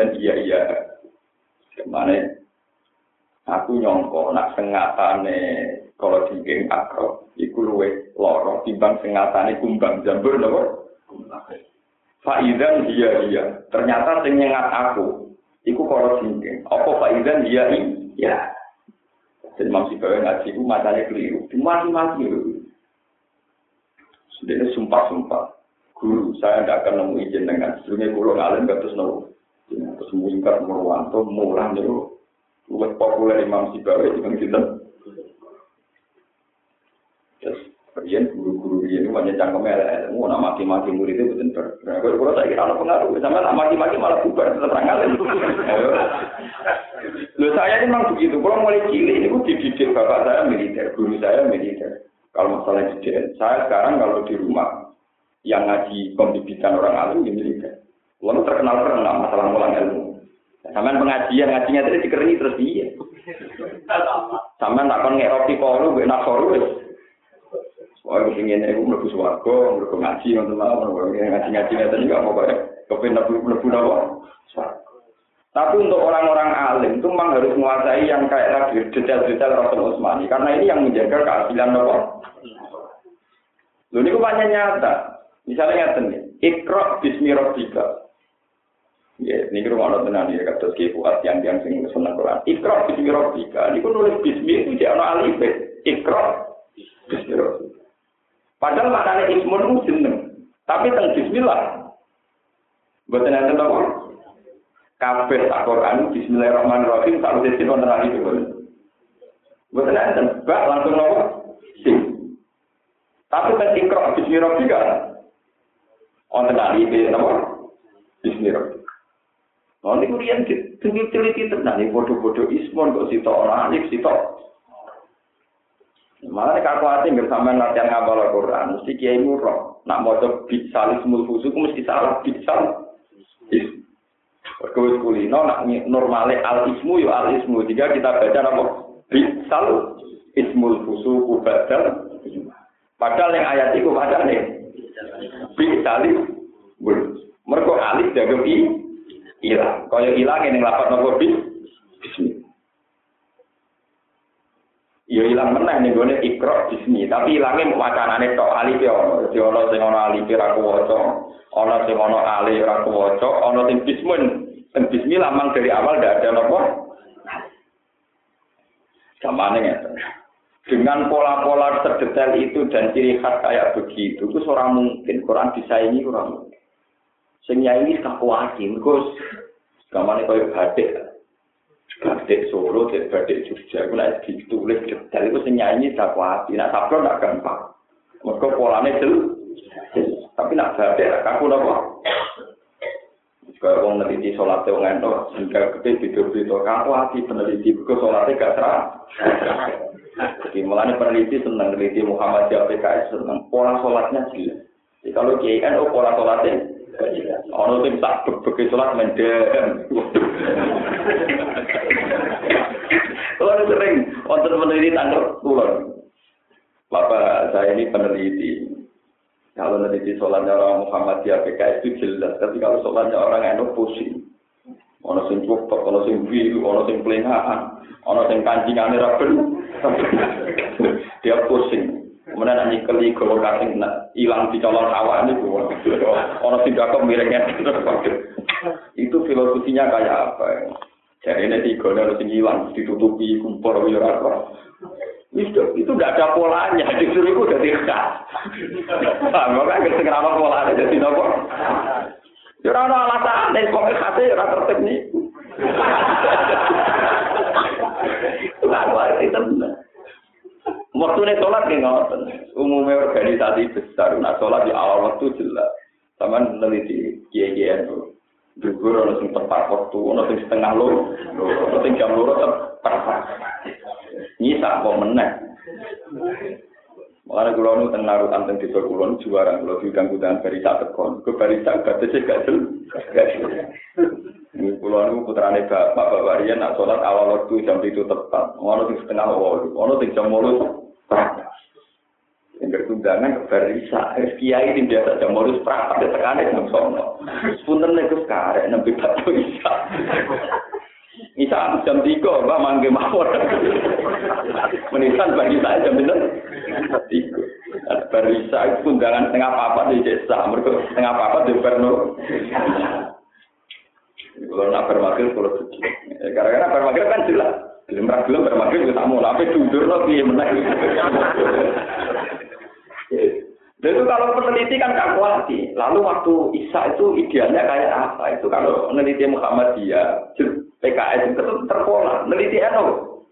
kemana aku nyongko nak sengatane kalau tinggi akrob iku luwe loro timbang sengatane kumbang jambul nopo faidan iya ternyata sing nyengat aku iku kalau tinggi apa faidan iya jadi maksudnya ngaji iku matane keliru dimati-mati Dia sumpah-sumpah. Guru, saya tidak akan nemu izin dengan sebelumnya pulau ngalim gak terus nemu. Terus mengingkat Murwanto, murah itu. Luwes populer Imam Sibawi di Bangkitan. Terus, kemudian guru-guru ini banyak cangkemnya. Mau nak maki-maki murid itu betul. Kalau saya kira ada pengaruh. Sama nak maki-maki malah bubar setelah ngalim. Loh saya ini memang begitu. Kalau mulai cilik ini dididik bapak saya militer, guru saya militer. Kalau masalah dididik, saya sekarang kalau di rumah yang ngaji pembibitan orang alim di militer, lalu terkenal masalah ngulang ilmu. Sampai pengajian ngajinya tadi dikerengi terus dia. Sampai tak kon ngerti kalau gue nak soru, soalnya gue ingin aku melebu swargo, melebu ngaji teman-teman, ngaji tadi nggak mau kayak kepengen melebu apa. Tapi untuk orang-orang alim itu memang harus menguasai yang kayak detail-detail Rasul Utsmani karena ini yang menjaga keadilan apa. Lalu ini banyak nyata. Misalnya nyata Iqra bismi rabbika. Ya, ini rumah Allah tenan ya kata Kifuat yang sing seneng Quran. Iqra bismi rabbika. Ini nulis bismi itu dia ana alif. Iqra bismi rabbika. Padahal maknanya ismun itu jeneng. Tapi teng bismillah. Mboten enten apa? Kabeh Al-Qur'an bismillahirrahmanirrahim tak mesti wonten alif itu. Mboten enten bak langsung apa? Sing. Tapi kan Iqra bismi rabbika. Wonten alif napa? Bismi rabbika. Nah, ini kemudian teliti tenan, ini bodoh-bodoh ismon kok sitok orang alif sitok. Malah nek aku ati bersama latihan ngapal Al-Qur'an, mesti kiai murah. Nak maca bisal ismul fusuk mesti salah bisal. Perkawis kulino nak normale al ismu yo al ismu. Jika kita baca apa? Bisal ismul fusuk badal. Padahal yang ayat itu padane bisal mergo alif jago ilang. Kaya ilang ning lapat nopo bismi. Ya ilang meneh ning gone Iqra bismi, tapi ilange wacanane tok alif ya ono. Dadi ono sing ono alif ora kuwaca, ono sing ono alif ora kuwaca, ono sing bismun. Sing bismi lamang dari awal ndak ada nopo. Gamane ngeten. Dengan pola-pola terdetail itu dan ciri khas kayak begitu, itu ora mungkin Quran disaingi ora mungkin. Sing nyai iki kakuwati, mergo gamane koyo batik. Batik Solo, batik Jogja, iku nek ditulis detail iku sing nyai kakuwati, nek sablon gak gampang. Mergo polane jelas. Tapi nek batik kaku napa? Kayak wong neliti salate wong entuk, sehingga gede video-video kamu hati peneliti ke salate gak terang. Jadi mulanya peneliti senang peneliti Muhammadiyah PKS senang pola salatnya jelas. Jadi kalau KNU pola salatnya ono sing tak begitu salat mendem. Kalau sering wonten peneliti tanggal kulon. Bapak saya ini peneliti. Kalau meneliti sholatnya orang Muhammadiyah PKS itu jelas, tapi kalau sholatnya orang NU pusing. Ono sing cukup, ono sing biru, ono sing pelengahan, ono sing kancingane raben. Dia pusing. Kemudian nanti keli golong kasing hilang di colong awak ini, ono sing gak miringnya. Itu filosofinya kayak apa? Jadi ini tiga harus hilang, ditutupi kumpul apa? Itu tidak ada polanya, justru itu udah tidak. Makanya segera polanya jadi apa? Ya orang alasan, dan pokoknya khasnya orang tertib nih. Lalu itu benar. Waktunya sholat nih ngoten. Umumnya organisasi besar, nah sholat di awal waktu jelas. Sama meneliti kiai-kiai itu. Juga orang yang tepat waktu, orang yang setengah loro, orang yang jam loro tepat. Ini tak mau menang. Makanya kalau nu tengah rutan tentang di Kulon juara, kalau diganggu dengan barista tekon, ke barista batasnya gak jelas. Ini Kulon putrane bapak Varian nak sholat awal waktu jam itu tepat. Orang yang setengah awal, orang yang jam loro. Yang bertundangan ke barista, kiai di biasa jam loro seperempat tekanan yang sono. Punten itu sekarang nabi batu isa. Isa jam 3, Mbak mangke mawon. Menisan bagi saya jam 3. Barisa itu undangan setengah papat di desa, mereka setengah papat di Bernur. Kalau nak bermakil, kalau suci. Karena bermakil kan jelas. Belum bermakil kita mau tapi jujur lagi menang. Itu kalau peneliti kan kalkulasi. Lalu waktu Isa itu idealnya kayak apa? Itu kalau peneliti Muhammadiyah, PKS itu terpola. Peneliti NU.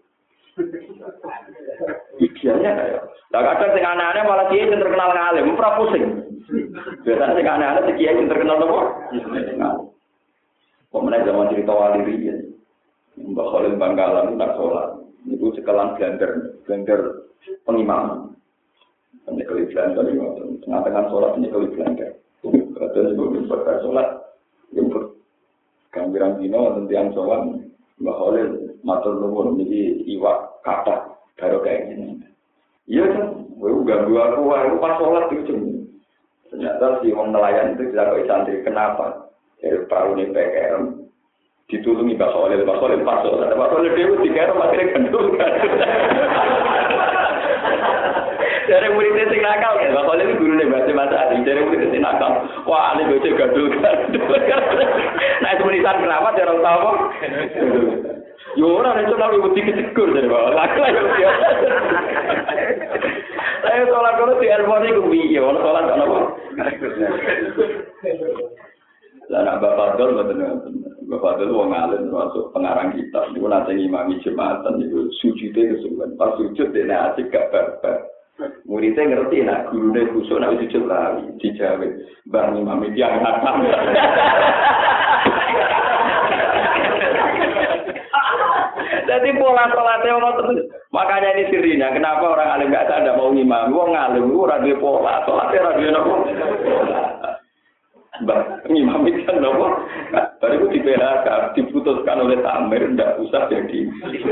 Idealnya kayak. Nah kadang sing aneh-aneh malah kiai yang terkenal ngalim, ora pusing. Biasanya sing aneh-aneh si kiai yang terkenal apa? Pemenang zaman cerita wali riyen. Mbak Khalil Bangkalan tak sholat. Itu sekelan blender pengimaman. Menyekali blender itu, tengah-tengah sholat menyekali blender. Kadang sebelum berkata sholat, jemput gambaran dino tentang sholat, Mbak Khalil matur nuwun niki iwak kata baru kayak gini. Iya kan, gue ganggu aku pas sholat itu. Ternyata si orang nelayan itu tidak kok santri. Kenapa? Dari perahu ini PKM ditulungi Mbak Khalil pas sholat. Mbak Khalil dia dikira masih gendul kan. Dari muridnya sing nakal kan, Mbak Khalil itu gurunya bahasa Masari. Dari muridnya sing nakal, wah ini bocah gendul kan. Nah itu menisan kenapa dia orang tahu? Yo ora itu nabi budi kecekur dari bawah. Laklah yo. Saya sholat kalau di Elmoni ku piye, ono sholat ono apa? Lah nak Bapak Fadl mboten. Bapak Fadl wong alim termasuk pengarang kitab. Niku nate ngimami jemaatan niku sujude kesuwen. Pas sujud dene asik gak barbar. Muridnya ngerti nak gurune khusuk nak sujud lali dijawe. Mbah ngimami tiyang hatam. Jadi pola sholatnya orang terus. Makanya ini sirinya. Kenapa orang alim gak ada mau ngimami? Wong alim itu radio pola. Sholatnya radio apa? Mbak, ngimami kan apa? Baru itu di PHK diputuskan oleh Tamir. Tidak usah jadi.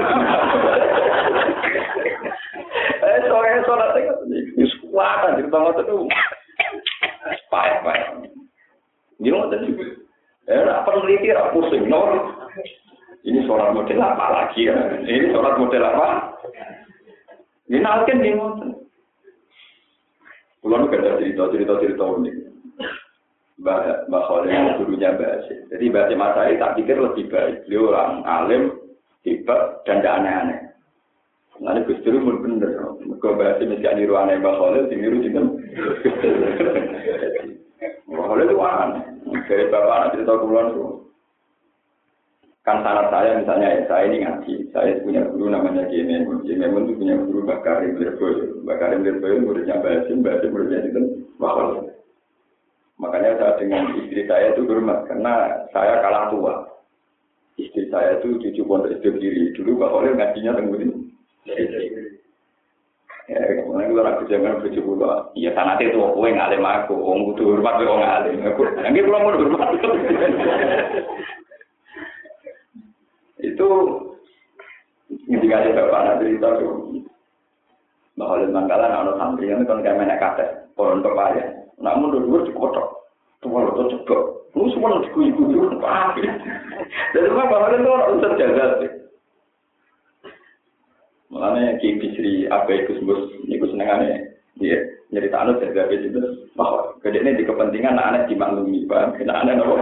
Sholatnya kan ini sekuatan. Jadi banget itu. Payah. Ini nggak tadi. Peneliti pusing. Ini sholat model apa lagi ya? Ini sholat model apa? Ini nalken nih ngoten. Kulo nek ada cerita unik. Mbak Khalil gurunya Mbak Asyik. Jadi Mbak Asyik Masai tak pikir lebih baik. Beliau orang alim, hebat, dan tidak aneh-aneh. Nanti Gus Dur pun bener. Mereka Mbak Asyik mesti niru aneh Mbak Khalil, niru juga. Mbak Khalil itu aneh. Dari bapak anak cerita kulon itu. Kan sanad saya misalnya saya ini ngaji, saya punya guru namanya Kiai Memun itu punya guru Mbak Karim Lirboyo muridnya Mbak Asyik muridnya itu Mbak Khalil. Makanya saya dengan istri saya itu hormat karena saya kalah tua. Istri saya itu cucu pondok SD diri. Dulu Pak Khalil ngajinya tenggurin. Ya, kemudian kalau aku jangan cucu pondok. Iya sanate itu kowe ngalim aku, wong kudu hormat wong ngalim. Nggih kula mun hormat. Itu ketika ada bapak nanti cerita tuh. Mbak Khalil Manggalan ana santri yang kan kaya menek kates, pohon pepaya. Namun dulu cukup tok. Tuwa lo cocok. Lu semua dikuyu-kuyu apa? Jadi Mbak Khalil itu orang usah jaga. Mulane Ki Bisri Abai Gusmus niku senengane dia nyeritakno jaga itu bahwa gedene di kepentingan anak dimaklumi, Pak. Kena anak nopo.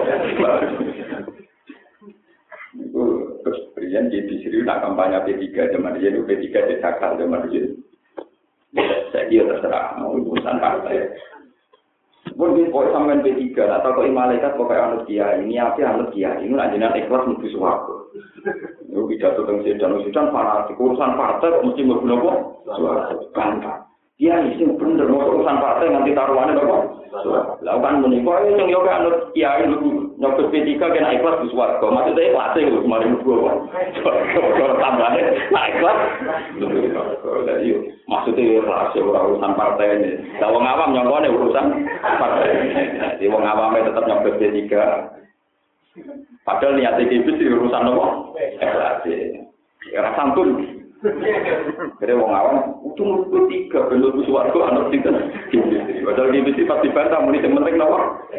Itu terus Presiden Ki Bisri nak kampanye P3 zaman dia P3 dicakar zaman dia. Saya dia terserah mau urusan partai. Pun di poin sampean P3 atau kok malaikat kok kayak anut kiai ini apa anut kiai ini nak jenengan ikhlas mlebu swarga. Yo pidato teng sedan fanatik urusan partai kok mesti mlebu napa? Swarga. Bangga. Kiai sing bener urusan partai nganti taruhane napa? Swarga. Lah kan menika sing yo kayak anut kiai mlebu nyobot P3 kena ikhlas di swarga. Maksudnya ikhlas lho mari mlebu apa? Swarga tambahane nak ikhlas. Jadi maksudnya rahasia urusan partai ini. Kalau wong awam nyongkone urusan partai. Jadi wong awam tetap nyobot P3. Padahal niat iki wis urusan apa? Ikhlas. Ora santun. Jadi wong awam untung P3 belum suwarga ana sing padahal di mesti pasti bantah muni sing penting napa?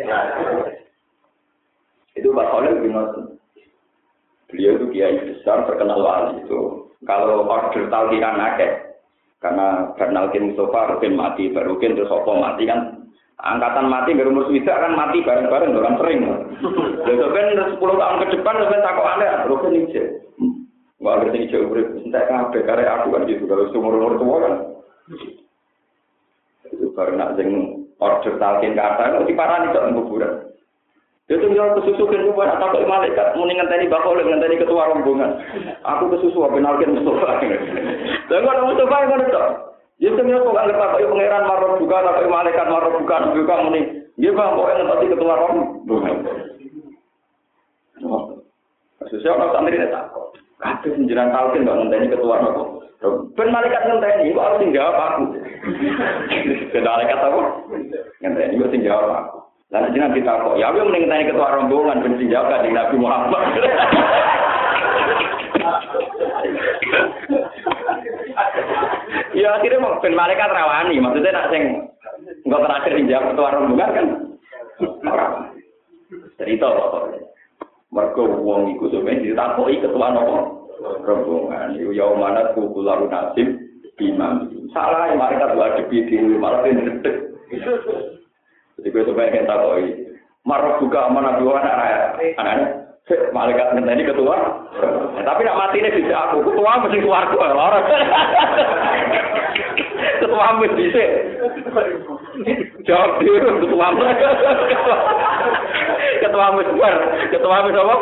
Itu Pak Khalil bingung. Beliau itu kiai besar terkenal wali itu. Kalau order talqinan akeh karena Bernalkin Mustafa Rukin mati, Rukin terus apa mati kan angkatan mati baru umur swida kan mati bareng-bareng kan sering. Lha ben 10 tahun ke depan sampe takokane Rukin iki. Wah ngerti iki urip entek kabeh karek aku kan gitu kalau umur-umur tua kan. Itu karena sing order talqin kata kok diparani kok kuburan. Itu yang kesusukan itu buat atau malaikat muni ngenteni bakal ngenteni ketua rombongan. Aku kesusu benalkin Mustafa. Lah kok Mustafa ngono to. Ya sampeyan kok anggap Pak pangeran marot buka atau malaikat marot buka muni. Nggih Bang, kok ngenteni ketua rombongan. Sesuai orang santri ini tak. Kabeh penjeran talqin kok ngenteni ketua rombongan. Ben malaikat ngenteni kok harus jawab aku. Ben malaikat apa? Ngenteni kok jawab aku. Lalu jangan kita kok, ya aku menengah ketua rombongan benci jaga di Nabi Muhammad. Ya akhirnya mau ben malaikat rawani, maksudnya nak sing enggak terakhir dijawab ketua rombongan kan. Cerita kok. Mergo wong iku sampeyan ditakoki ketua rombongan. Iku ya mana kukularun nasib bimam. Salah malaikat wajibi dhewe malah ndedeg. Jadi gue coba yang tak koi, marah buka mana dua anak malaikat ini ketua, tapi nak mati ini bisa aku ketua mesti keluarku orang, ketua mesti bisa, jawab dulu ketua mesti apa?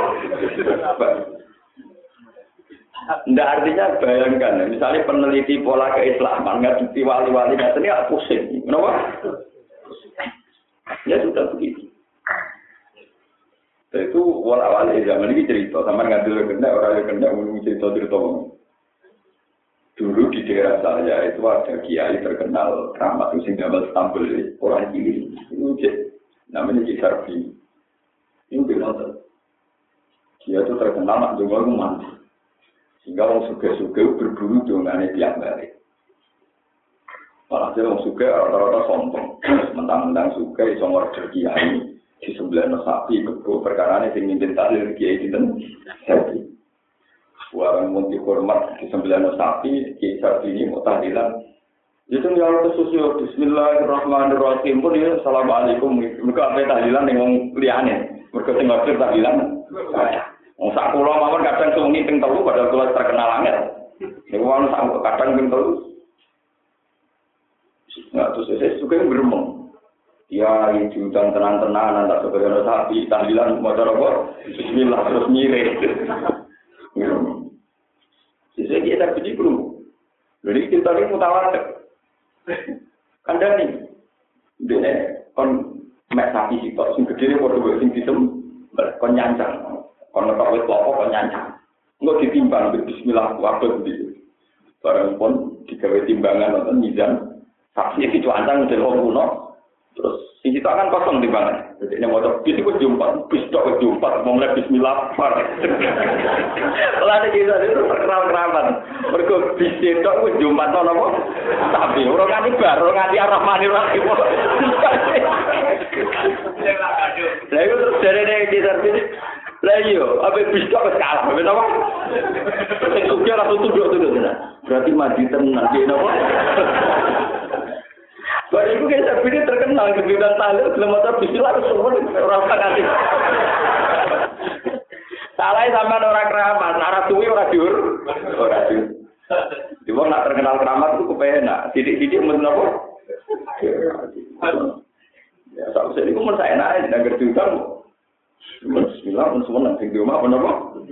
Nggak artinya bayangkan, misalnya peneliti pola keislaman nggak di wali-wali ini aku pusing, kenapa? Ya sudah begitu. Itu wala-wali zaman ini cerita, sama ngambil kena orang yang kena ngomong cerita. Dulu di daerah saya itu ada kiai terkenal keramat sing gambar Istanbul orang kiri. Itu namanya Ki Sarbi. Ini bilang dia itu terkenal nak donga mandi. Sehingga orang suge-suge berburu dongane tiap hari. Malah orang suka rata-rata sombong, mentang-mentang suka iso ngorder kiai di sebelah sapi kebo perkara ini sing mimpin tahlil kiai dinten sapi. Warang munti hormat di sebelah sapi kiai sapi ini mau tahlilan. Itu yang kesusu Bismillahirrahmanirrahim pun ya assalamualaikum. Mereka apa tahlilan yang liyane. Mereka sing ngorder tahlilan. Wong sak kula mawon kadang sungi ping 3 padahal kula terkenal angel. Niku wong sak kadang ping 3. Nah, terus saya suka yang beremong. Ya, itu dan tenang-tenang, tak sebagai sapi, tahlilan, motor apa? Bismillah, terus mirip. Saya kita pergi belum. Jadi kita ini mutawatir. Anda nih, dia kon mek sapi sitok sing gedene padha wae sing kon nyancang. Kon nek wis klopo kon nyancang. Engko ditimbang bismillah wabet iki. Barang pun digawe timbangan nonton mizan. Sapi iki cuancang delok kuno. Terus sing sitok kan kosong timbangan. Jadi ini mau bis itu jumpa, bis tok jumpa, mau mulai bismillah par. Lah nek iki itu kerawan-kerawan. Mergo bis tok wis jumpa to napa? Sapi ora nganti bar, ora nganti Ar-Rahmanir-Rahim. Lah iku terus derene iki terus. Lah iya, ape bis tok wis kalah, wis apa? Sing sugih langsung tunduk-tunduk. Berarti mati tenan iki napa? Baru itu kayak sapi ini terkenal di bidang tahlil, belum ada bismillah semua orang sakit. Salahnya sama orang keramat, arah suwi orang diur. Cuma nak terkenal keramat itu kepenak. Sidik-sidik mesti apa? Ya, saya ini pun saya enak, tidak gerjukan. Bismillah, pun semua nanti di rumah, pun apa?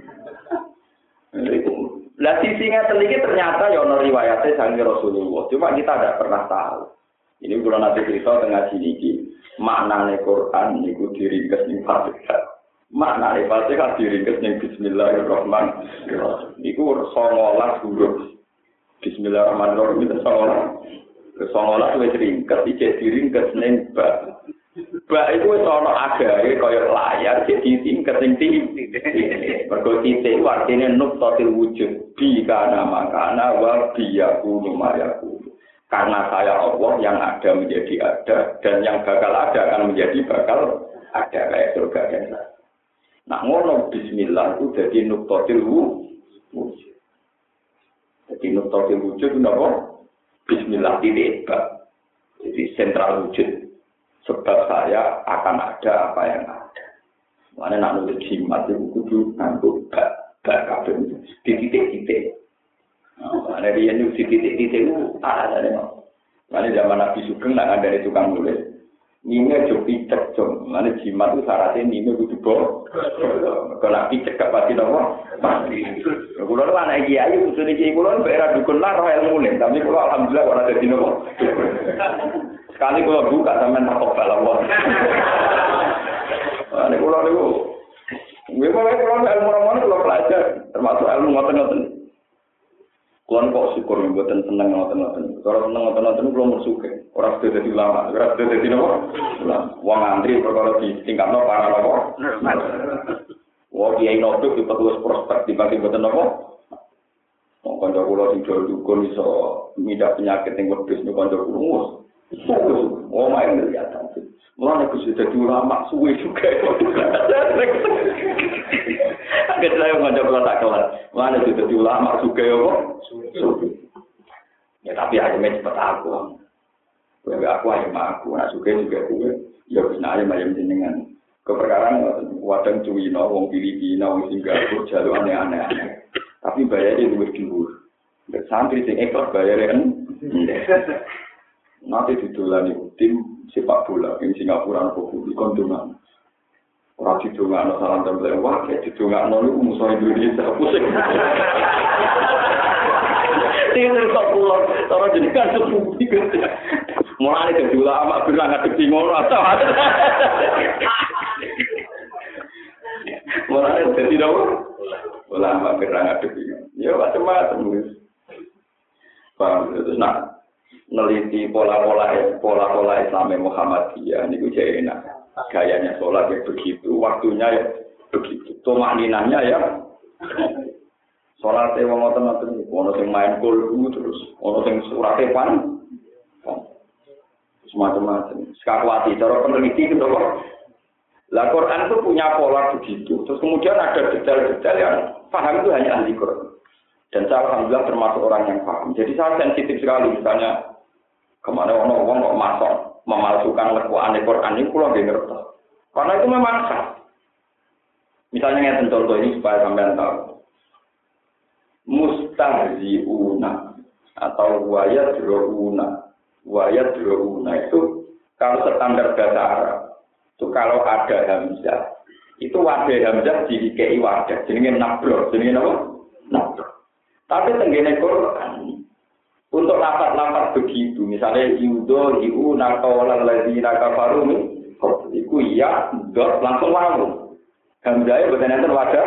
Lah sisinya sedikit ternyata ya ono riwayatnya sangi Rasulullah. Cuma kita tidak pernah tahu. Ini kalau nanti cerita tengah sini, maknanya Quran itu diringkas ning Fatihah. Maknanya Fatihah diringkas ning Bismillahirrahmanirrahim. Itu 19 huruf. Bismillahirrahmanirrahim itu 19. 19 wis ringkas, iki diringkas ning ba. Ba itu wis ana agahe kaya layar jadi tingkat sing tinggi. Mergo titik artine nuqtatil wujud bi kana makana wa biyakunu mayakunu. Karena saya Allah yang ada menjadi ada dan yang bakal ada akan menjadi bakal ada kayak surga dan neraka. Nah ngono bismillah itu jadi nuqtatil wujud. Jadi nuqtatil wujud itu apa? Bismillah titik. Jadi sentral wujud. Sebab saya akan ada apa yang ada. Mana nak nulis jimat itu kudu nganggo bak kabeh di titik-titik. Nah, dia ini di titik-titik itu ada deh. Mana zaman Nabi Sugeng nak ada dari tukang nulis. Nime jopi cek mana jimat itu syaratnya nime kudu bo. Kalau Nabi cek pasti nopo. Pasti. Kalau orang anak kiai usul kiai kalau berak dukun lah roh ilmu nih. Tapi kalau alhamdulillah orang ada di nopo. Sekali kalau buka sampai takut balapon. Ini kalau itu, gue kalau ilmu orang kalau belajar termasuk ilmu ngoten-ngoten. Kuan kok syukur mboten seneng ngoten-ngoten. Kalau seneng ngoten-ngoten kula mersuke. Ora sudah dadi ulama, ora sudah dadi napa? Wong antri perkara ditingkatno para napa? Wong kiai nopo iki petugas prospek dibagi mboten napa? Wong kanca kula sing dukun iso midak penyakit ing wedhus niku kanca kula. Oh main lihat nanti. Mulane kudu dadi ulama suwe juga. Agak saya kanca kula tak kelar. Mulane dadi ulama juga ya kok. Ya tapi aja cepet aku. Aku aja aku, nah juga gue. Ya bisa aja macam jenengan. Keperkaraan wadang Cuwino, wong Filipina, wong Singapura, jalur aneh-aneh. Tapi bayarnya luwih dhuwur. Nek santri sing ikhlas bayare kan. Nanti didolani tim sepak bola ing Singapura apa kuwi kondongan. Ora didongakno salam tempel wah, didongakno niku musuh Indonesia pusing. Tinggal kok pulau, cara jenengan sepupu iki. Mulane dadi ulama bilang ngadep ngono atau. Mulane dadi dawa. Ulama bilang ngadep iki. Ya macam-macam wis. Paham terus nak neliti pola-pola Islam Muhammadiyah niku jek enak. Gayanya sholat ya begitu, waktunya ya begitu. Tumakninahnya ya. Sholat wong ngoten-ngoten, ono sing main golfu terus, ono sing surate pan. Semacam-macam. Sekakwati cara peneliti itu kok. Lah Quran itu punya pola begitu. Terus kemudian ada detail-detail yang paham itu hanya ahli Quran. Dan saya alhamdulillah termasuk orang yang paham. Jadi saya sensitif sekali misalnya kemana orang kok masuk memalsukan lekuan Quran ini pulau nggak ngerti. Karena itu memang sah. Misalnya ngeten contoh ini supaya sampean tahu. Mustahziuna atau wayadrouna itu kalau standar bahasa Arab itu kalau ada hamzah itu wadah hamzah dikei wadah jenenge nabro jenenge apa? Nabro. Tapi tenggene Quran untuk lafaz-lafaz begitu misalnya yudo yu naqawal ladzina kafaru Iku iya, dot langsung wawu. Hamzah boten enten wadah.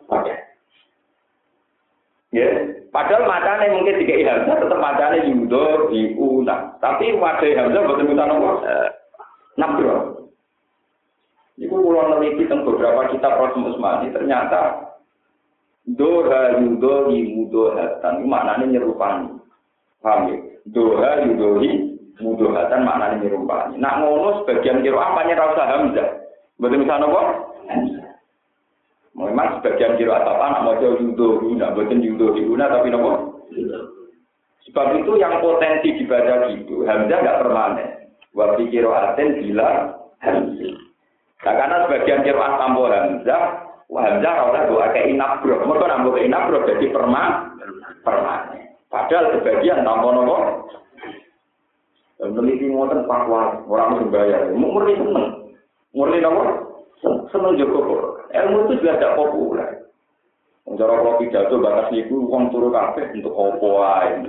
Ya, padahal macane mungkin dikai hamzah tetap macane yudo diuna. Tapi wadah hamzah boten mutan apa? Nabro. Iku kula neliti teng beberapa kitab Rasul Usmani ternyata doha yudo yudo hatan maknane nyerupani. Paham ya? Doha yudohi mudohatan maknane nyerupani. Nak ngono sebagian kira apanya ra usah hamzah. Boten mutan apa? Memang sebagian kira atau anak mau judo guna, bukan judo guna tapi nopo. Sebab itu yang potensi dibaca gitu, hamzah nggak permanen. Waktu kira aten bila hamzah. Nah, karena sebagian kira tambah hamzah, hamzah doa ke inabro, mereka nambah ke inabro jadi permanen. Padahal sebagian tambah nopo. Meneliti ngoten pakwa orang berbayar, murni seneng, murni nopo. Seneng Joko. Ilmu itu juga tidak populer. Cara kalau pidato batas niku wong turu kabeh untuk opo ae.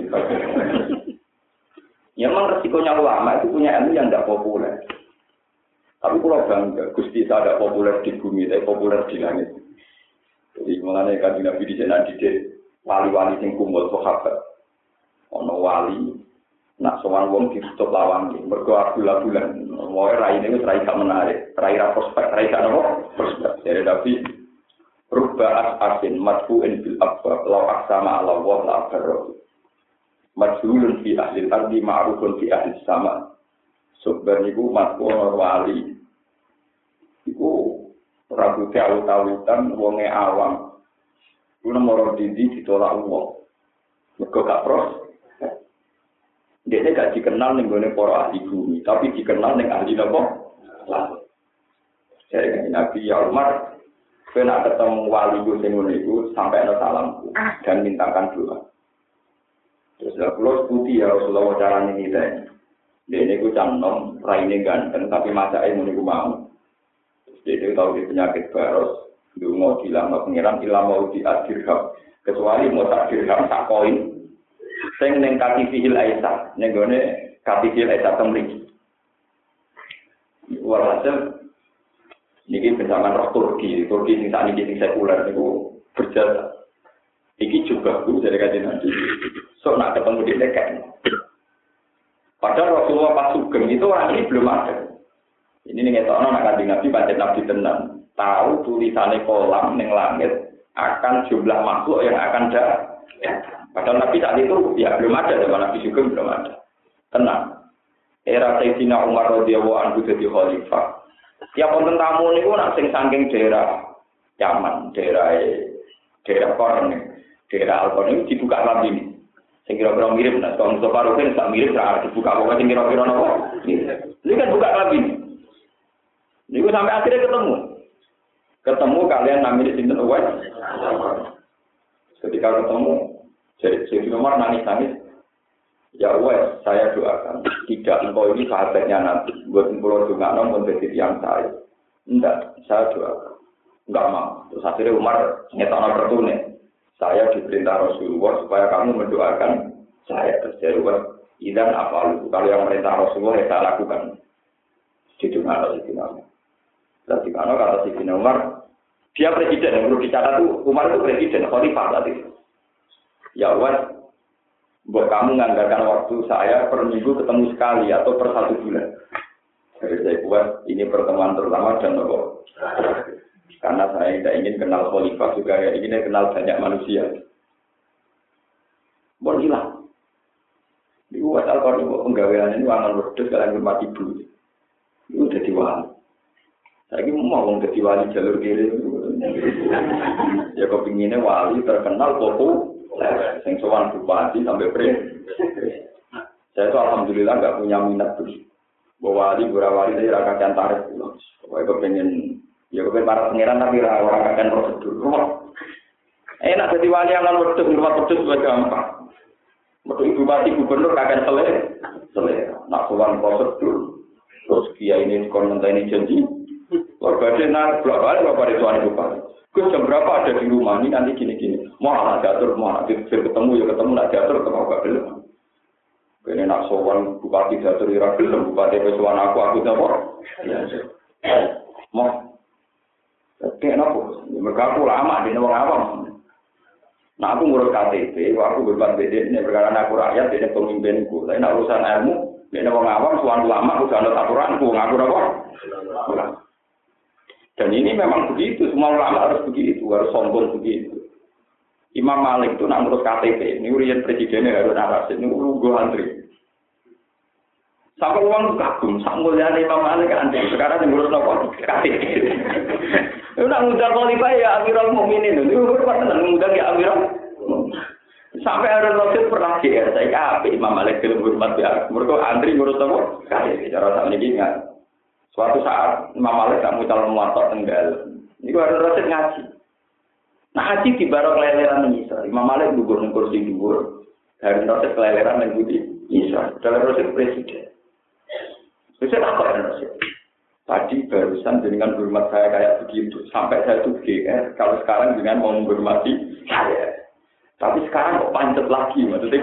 Ya memang resikonya ulama itu punya ilmu yang tidak populer. Tapi kalau bangga, Gusti saya tidak populer di bumi, tapi populer di langit. Jadi mengenai Kanjeng Nabi di sana didik wali-wali sing kumpul sahabat. Ono wali nak sowan wong ditutup lawang iki mergo bulan-bulan wae raine wis ra iso menarik rai ra prospek rai kan apa prospek jadi tapi rubba asin madfu'in bil abwab law aqsama ala wa la akbar madfulun fi ahli al-ardi ma'rufun fi ahli sama sebenarnya iku madfu wali iku ragu tahu-tahutan wonge awam kuwi nomor ditolak wong mergo gak pros. Dia gak dikenal dengan para ahli bumi, tapi dikenal dengan ahli apa? Saya Nabi ya Umar, saya ketemu wali itu sampai ada salamku dan mintakan doa. Terus kalau putih ya Rasulullah caranya ini deh. Dia ini ku cantom, raine ganteng, tapi masa ini ku mau. Terus dia tahu dia penyakit baros, dia mau dilama pengiran, ilmu diadirham, kecuali mau tak dirham tak koin. Sing ning katifil Aisyah, ning gone katifil Aisyah temriki. Walhasil niki bersama roh Turki sing sakniki sing sekuler niku berjasa. Iki juga Bu dari kajian nanti. So nak ketemu di dekat. Padahal Rasulullah pas sugeng itu orang ini belum ada. Ini ning etokno nak kanjeng Nabi pancen nabi tenan. Tahu tulisane kolam ning langit akan jumlah makhluk yang akan datang. Padahal Nabi saat itu ya belum ada, zaman Nabi juga belum ada. Tenang. Era Sayyidina Umar radhiyallahu anhu jadi khalifah. Tiap wonten tamu niku nak sing saking daerah Yaman, daerah Qarn, daerah Al-Qarn dibuka lagi. Sing kira-kira mirip nah, kalau Mustafa Rukin tak mirip ra dibuka kok sing kira-kira napa. Ini kan buka lagi. Niku sampai akhirnya ketemu. Ketemu kalian namanya sinten Uwais. Ketika ketemu jadi Umar nangis-nangis, ya Uwais, saya doakan, tidak engkau ini sahabatnya Nabi, buat pulau juga namun menjadi yang saya. Enggak, saya doakan, enggak mau. Terus akhirnya Umar nyetana pertune, saya diperintah Rasulullah supaya kamu mendoakan saya. Terus saya Uwais, idan apa lu? Kalau yang perintah Rasulullah ya saya lakukan. Di mana Sayyidina Umar? Berarti kalau kata Sayyidina Umar, dia presiden, yang perlu dicatat itu Umar itu presiden, khalifah tadi. Ya Wan, buat kamu menganggarkan waktu saya per minggu ketemu sekali atau per 1 bulan. Jadi saya buat ini pertemuan terutama dan nopo. Karena saya tidak ingin kenal khalifah juga, ya ingin kenal banyak manusia. Bon hilang. Di buat Al-Qur'an penggawean ini wangan wedhus kalian hormat ibu. Itu udah diwali. Saya ini mau jadi wali jalur kiri. Ya kepinginnya wali terkenal populer. Yang sowan bupati sampai presiden. Saya itu alhamdulillah nggak punya minat tuh. Bahwa di Burawali saya rakyat tarif. Pokoknya kepengen, ya kepengen para pangeran tapi orang akan prosedur. Enak jadi wali yang lalu wedus juga gampang. Betul bupati gubernur akan selesai. Nak sowan prosedur. Terus kiai ini komentar ini janji. Warga nak berapa itu ane bupati. Gus jam berapa ada di rumah ini nanti gini-gini. Mau anak diatur, mau anak ketemu ya ketemu, nak diatur ketemu gak belum. Ini nak sowan bupati diatur ira belum, bupati pesuan aku dapur. Ya, Mau kayak nopo, mereka aku lama di wong awam. Nah aku ngurus KTP, aku beban beda ini perkara aku rakyat, ini pemimpinku. Tapi nak urusan ilmu, ini wong awam, suatu lama aku jangan aturanku, ngaku nopo. Dan ini memang begitu, semua ulama harus begitu, harus sombong begitu. Imam Malik itu nak ngurus KTP, ini urian presidennya Harun Ar-Rasyid, ini gue antri. Sampai uang kagum, sampai Imam Malik antri. Sekarang yang ngurus nopo KTP. Itu nak ngundang Khalifah ya Amirul Mukminin itu pernah ngundang ya Amirul. Sampai Harun Ar-Rasyid pernah GR, saya kape Imam Malik film hormat ya. Mereka antri ngurus nopo KTP. Cara sama ini ingat. Suatu saat Imam Malik tak mau calon muatok tenggal. Ini Harun Ar-Rasyid ngaji. Nah ngaji di barok keleleran Isa. Imam Malik gugur di kursi gugur. Harun Ar-Rasyid keleleran yang budi Isa. Harun Ar-Rasyid presiden. Saya takut Harun Ar-Rasyid. Tadi barusan dengan hormat saya kayak begitu. Sampai saya tuh GR. Kalau sekarang dengan mau menghormati saya. Tapi sekarang kok pancet lagi, maksudnya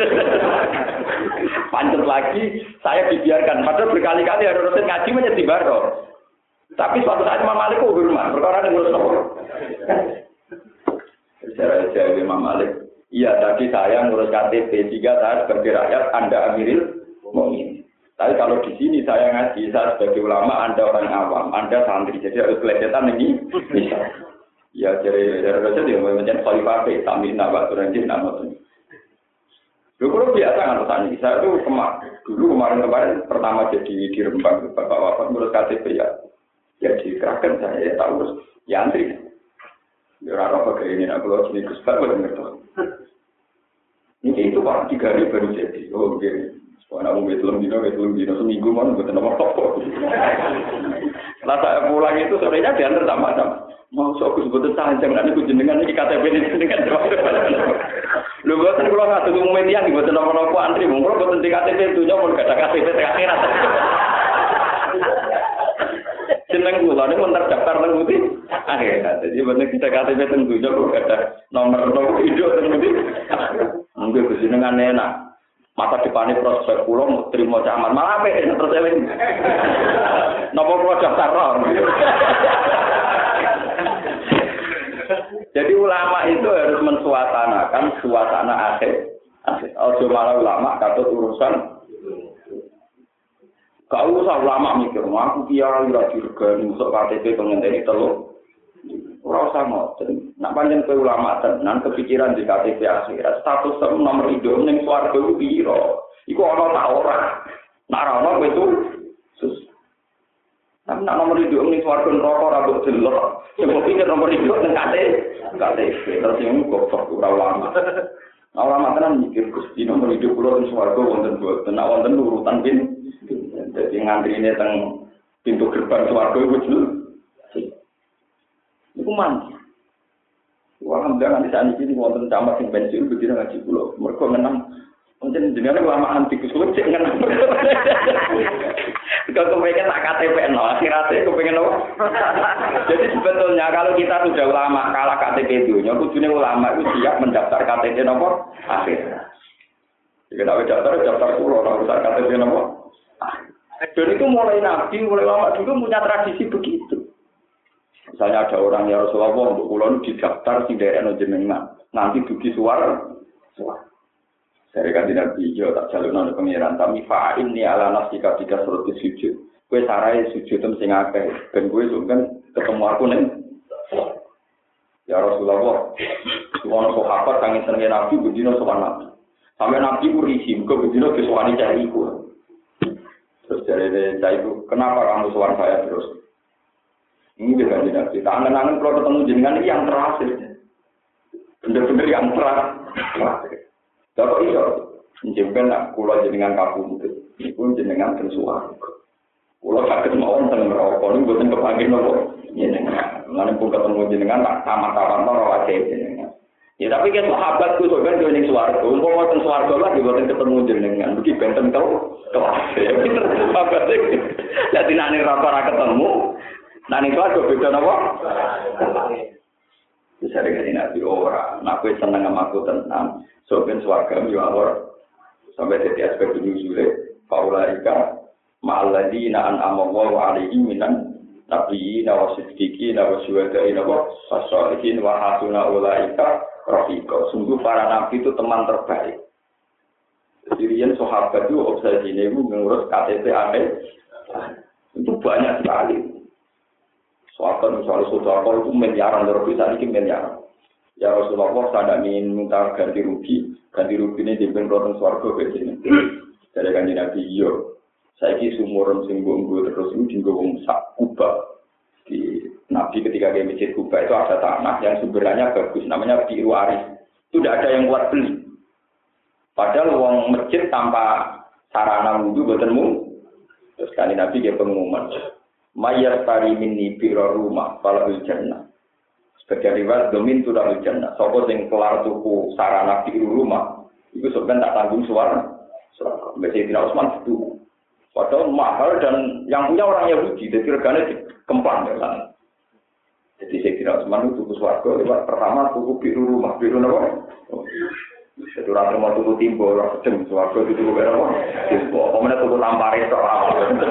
pancet lagi, saya dibiarkan. Padahal berkali-kali Harun Ar-Rasyid ngaji menjadi barok. Tapi suatu saat Imam Malik kok hormat, perkara yang ngurus nopo. Secara jawab Imam Malik, iya tadi saya ngurus KTP, jika saya sebagai rakyat, Anda Amirul Mukminin. Tapi kalau di sini saya ngaji, saya sebagai ulama, Anda orang awam, Anda santri, jadi harus kelihatan ini bisa. Ya jadi Rasul dia macam Khalifah Tamin Nabi Turanjin nama tu. Dulu biasa kan tanya, saya tu kemarin pertama jadi di Rembang Bapak Wafat ngurus KTP ya. Ya dikerahkan saya ya tahu ya antri. Ya orang apa ini nak keluar sini Gus Pak boleh ngerti. Ini itu Pak 3 hari baru jadi. Oh begini. Soalnya aku belum dino seminggu mana buat nama apa. Setelah saya pulang itu sorenya diantar sama-sama. Mau sok sebetulnya sanjang nanti jenengan iki KTP ini jenengan. Lho boten kula ngatur umum media iki boten napa-napa antri mung kula boten di KTP dunya mun gak ada KTP akhirat. Jeneng kula niku terdaftar nang Budi akhirat. Jadi boten kita KTP teng dunya kok gak ada nomor hidup teng Budi. Mungkin jenengan enak. Masa depannya prospek kula mau terima camat malah apik terus eling. Napa kula daftar ron. Jadi ulama itu harus mensuasanakan suasana akhir. Ojo malah ulama katut urusan. Gak usah ulama mikir, aku kiai ora dirgani usuk KTP pengenteni telu. Ora usah ngoten. Nek pancen kowe ulama tenan kepikiran di KTP akhirat, status nomor hidup ning swarga iku piro? Iku ana ta ora? Nek ora ana kowe itu sus. Tapi nak nomor hidup ning swarga neraka ora mbok delok. Sing pikir nomor hidup ning KTP terus yang goblok ora ulama. Ulama tenan mikir Gusti nomor hidup kula ning swarga wonten boten, nek wonten urutan pin. Dadi ngantrine teng pintu gerbang swarga iku jelas. Iku mandi. Alhamdulillah nanti saat ini wonten camat sing pensiun begitu ngaji kula. Mergo menang mungkin jenenge ulama anti kusulit sing ngenang. Kalau kepengen tak KTP no, akhirnya kepengen apa? Jadi sebetulnya kalau kita sudah ulama kalah KTP dunia, kudune ulama itu siap mendaftar KTP nomor akhirnya. Jika tak daftar pulau, orang usah KTP nomor. Dan itu mulai nabi, mulai ulama dulu punya tradisi begitu. Misalnya ada orang yang Rasulullah untuk pulau didaftar si daerah jenengan, nanti dugi suara. Dari kanjeng Nabi yo tak jalurna pengiran tapi fa'in ni ala nafsika tidak suruh sujud. Kowe sarai sujud tem sing akeh ben kowe kan ketemu aku ning ya Rasulullah. Wong sahabat kang senenge Nabi bendina sowan Nabi. Sampai Nabi ku risi muga bendina kesowani cari iku. Terus dari cai itu kenapa kamu sowan saya terus? Ini dia kanjeng Nabi. Tak angen-angen kalau ketemu jenengan ini yang terakhir. Bener-bener yang terakhir. Kalau iya, menjempel nak kulo jenengan kabum itu pun jenengan tersuar. Kulo sakit mau tentang merokok ini bukan kepanggil nopo jenengan. Lalu pun ketemu jenengan tak tamat-tamat nopo aja jenengan. Ya tapi kan sahabatku soalnya dia ning swarga, umpama teng swarga lah diboten ketemu jenengan. Iki benten tau kelas. Ya pinter sahabat iki. Dadi nek ning ora ketemu, nek ning swarga beda napa? Bisa dengan Nabi orang, aku senang sama aku tenang, soalnya suarga miwalor sampai jadi aspek dunia sulit. Faulaika ma'alladina an'amallahu alaihim minan nabi wa siddiqin wa syuhada'i wa sholihin wa hasuna ulaika rafiqa. Sungguh para nabi itu teman terbaik. Sirian sahabat itu obsesinya itu mengurus KTP aneh. Itu banyak sekali. Sahabat misalnya saudara itu miliaran bisa ini miliaran. Ya Rasulullah saya ingin minta ganti rugi ini dipimpin rotong swarga ke sini. Dari kanjeng Nabi yo. Saiki sumuran sing nggo terus itu dienggo sak kubah. Di Nabi ketika ke masjid Kuba itu ada tanah yang sumbernya bagus namanya Biru Arif. Itu tidak ada yang kuat beli. Padahal wong masjid tanpa sarana wudu boten mung. Terus kanjeng Nabi dia pengumuman. Mayar tari minni biro rumah falahul jannah. Sebagai riwayat domin tu dalil jannah. Sopo sing kelar tuku sarana biro rumah itu sebenarnya tak tanggung suara. Sayyidina Utsman itu. Padahal mahal dan yang punya orang Yahudi, jadi regane dikemplang ya kan. Jadi Sayyidina Utsman itu tuku swarga lewat pertama tuku biro rumah, biro napa? Jadi orang mau tuku timbo, orang sedang swarga itu tuku berapa? Timbo, kemudian tuku tampare soal.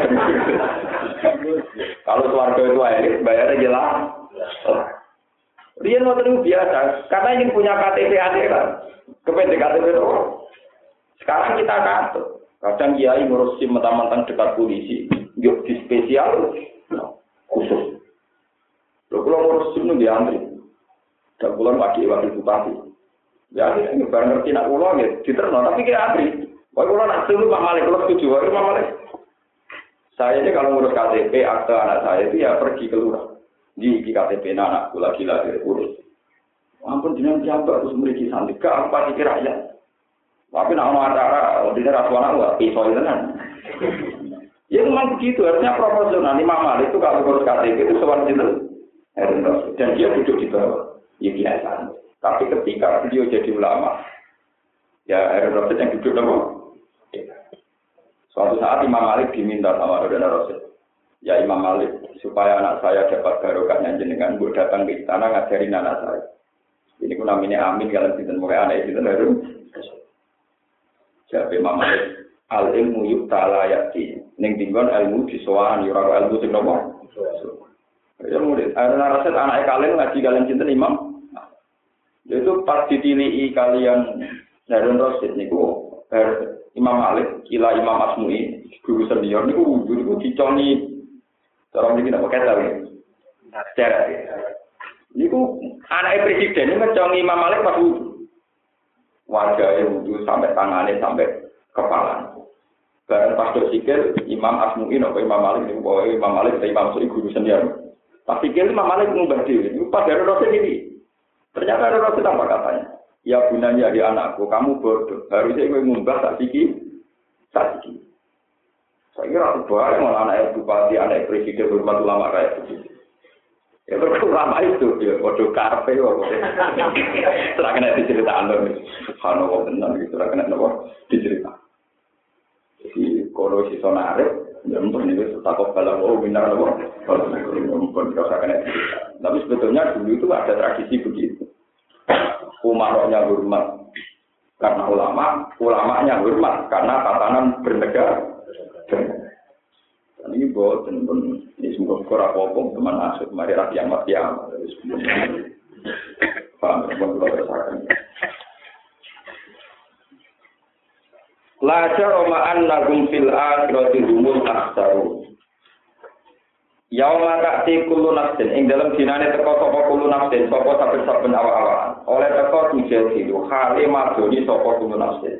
Kalau swarga itu elit, bayarnya jelas. Dia mau terus biasa, karena ini punya KTP akhirat. Kepada KTP itu. Sekarang kita kantor. Kadang kiai ngurus SIM mentang-mentang dekat polisi, yuk di spesial khusus. Lalu kalau ngurus SIM itu diantri. Dan pulang wakil bupati. Ya ini barang ngerti nak pulang ya diterno, tapi kita antri. Wah kalau nak dulu Pak Malik, kalau setuju, Pak Malik. Saya ini kalau ngurus KTP akte anak saya itu ya pergi keluar. Di KTP anakku lagi urus. Ampun jenengan jabat terus memiliki santri, gak apa dikira ya. Tapi nak orang acara, di rasuana nggak pisau itu kan. Ya memang begitu, artinya proporsional. Imam Malik itu kalau ngurus KTP itu seperti itu. Dan dia duduk di bawah, ya biasa. Tapi ketika beliau jadi ulama, ya Harun Rasid yang duduk apa? Suatu saat Imam Malik diminta sama Harun Rasid. Ya Imam Malik, supaya anak saya dapat barokahnya jenengan, bu datang ke istana ngajarin anak saya. Ini pun namanya Amin, kalian tidak mau anak itu Harun. Jadi Imam Malik, al ilmu yuktala yakti. Ning tinggon ilmu disowan, yura ilmu sing nopo. Ya murid, Harun Rasid anak kalian ngaji kalian cinta Imam. Itu pas ditilihi kalian Harun Rasid niku Imam Malik, kila Imam Asmu'i, guru senior niku wudu niku diconi cara iki napa kata iki. Cara niku anak presiden niku ngeconi Imam Malik pas wudu. Wajahnya wudu sampai tangannya sampai kepala. Bareng pas sikil Imam Asmu'i napa Imam Malik niku pokoke Imam Malik atau Imam Asmu'i guru senior. Pas sikil Imam Malik ngubah dhewe. Niku pas Harun Rasid iki. Ternyata Harun Rasid apa katanya? Ya gunanya di anakku, kamu bodoh. Harusnya gue ngumbah tak siki. Saya kira bahaya malah anak bupati, anak presiden, hormat ulama kayak begitu. Ya ulama itu, ya bodoh karpe, setelah kena diceritakan loh. Subhanallah benar, setelah kena diceritakan. Jadi kalau si sonarif, ya mungkin itu takut kalau benar loh. Mungkin kalau kena diceritakan. Tapi sebetulnya dulu itu ada tradisi begitu. Umaroknya hormat karena ulamanya hormat karena tatanan bernegara. Dan ini boten pun ini semoga kurang popong teman asuk mari rakyat matiam. Paham pun kalau rasakan. La jarama annahum fil akhirati humul akhsarun. Yauma ta'ti kullu nafsin ing dalam dinane teko sapa kullu nafsin sapa saben-saben awak-awakan oleh teko tujuh hale madoni sapa kullu nafsin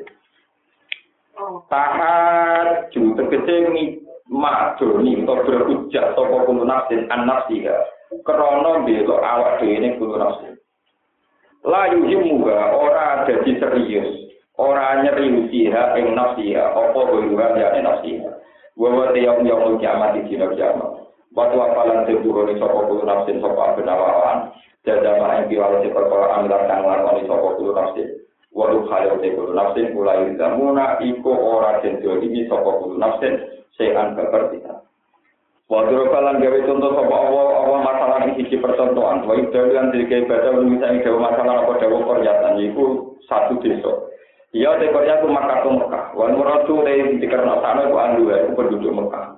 tahat ju tegese madoni utawa berhujjah sapa kullu nafsin an-nafsiha krana mbela awak dhewe ning kullu nafsin la yuhimuha ora dadi serius ora nyeriusiha ing nafsiha apa kuwi ya nafsiha wa yang kiamat di dina kiamat. Waktu apalan sebuah ni sokok bulu nafsin sokok benawan, jada main biwal si perkara amilan kang lakoni sokok bulu nafsin. Waduh khayal si bulu nafsin mulai zamuna iko ora jenjol ini sokok bulu nafsin sean kepertian. Waktu apalan gawe contoh sokok Allah masalah ini sisi percontohan. Waktu dalam diri baca misalnya gawe masalah apa dawe pernyataan itu satu desa. Iya dekornya aku Makkah. Wan muradu dari dikerna sana aku andu aku penduduk Mekah.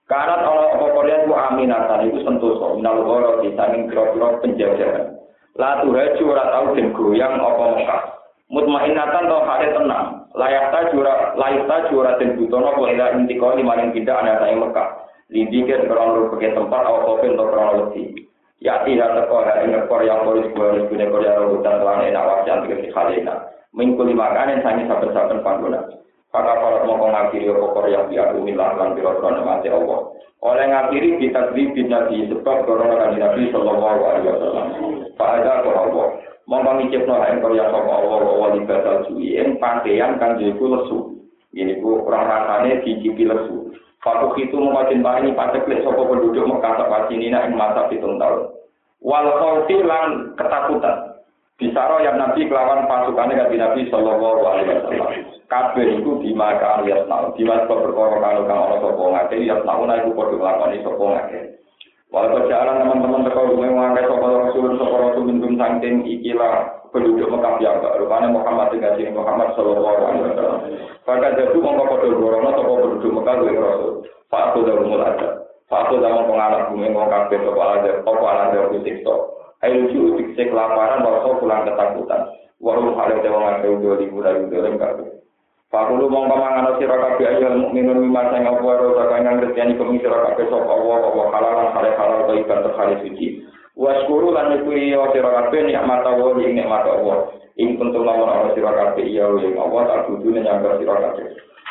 Karena ana apa Korea ku aminatan iku sentosa minal ghoro di saking kira-kira penjajahan. La tuhaju ora tau den goyang apa Mekah. Mutmainatan to hale tenang. Layak ta jura den butono apa ila intiko limaring pindah ana saing Mekah. Lidikir krono ke tempat apa kopen to krono wedi. Ya tidak teko ing Korea polis gua gune Korea hutan lan enak wajan iki khalena. Mingkuli makanan sangi saben-saben panggonan. Maka para mongko ngakhiri pokok yang biadu milah lan biro-biro mati Allah. Oleh ngakhiri kita bin Nabi sebab korona kan Nabi sallallahu alaihi wasallam. Pak ada Allah. Mongko ngicipno ing karya sapa Allah wa ibadah suwi ing pakaian kang iku lesu. Ini ku ora rasane dicipi lesu. Fakuk itu mongko cintai paceklik sapa penduduk Mekah sak wacinina ing masa 7 tahun. Wal khawfi lan ketakutan. Bisaro yang Nabi kelawan pasukannya kanjeng Nabi sallallahu alaihi wasallam. Kabeh iku dimakan yasnau. Dimas perkara karo kang ana sapa ngake yasnau iku padha nglakoni sapa ngake. Walau jalan teman-teman teko ngake sapa Rasul minum saking ikilah penduduk Mekah ya rupane Muhammad dengan Muhammad sallallahu alaihi wasallam. Maka jatuh mongko padha gorono sapa penduduk Mekah dengan Rasul. Pak aku dah mulai ada. Pak aku dah pengarap bumi ngomong kabeh sapa ada siksa. Ayo cuci cek laparan warso pulang ketakutan. Walau hal yang ngake udah liburan kabeh. Fakulu mongko mangan sira kabeh ayo mukminun mimasa ngapa ora sakang ngerteni kemi sira kabeh sapa Allah halalan halal ibadah terkali suci. Waskuru lan nyukuri sira kabeh nikmat Allah ing nikmat Allah. Ing kuntum lamun ana sira kabeh ya ing Allah tak kudune nyambar sira kabeh.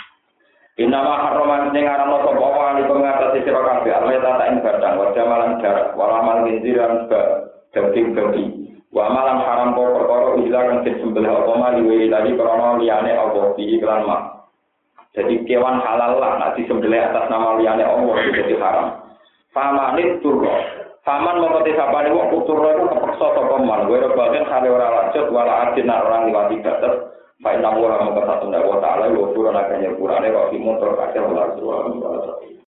Inama haraman sing aran sapa Allah ali pengatasi sira kabeh Allah tak ing badang wa jamalan jarak walamal ginjiran daging wa malam haram perkara ilang sing sembelih apa mali tadi krana liyane apa iki iklan mak. Jadi kewan halal lah nek disembelih atas nama liyane Allah jadi haram. Famanit turro. Faman mongko sapane wong turro iku kepeksa sapa man. Kowe bagian kale ora lanjut wala adin orang liwati batas. Fa inna wa ta'ala wa ta'ala wa qur'ana kan ya qur'ane wa fi motor kabeh Allah subhanahu wa ta'ala.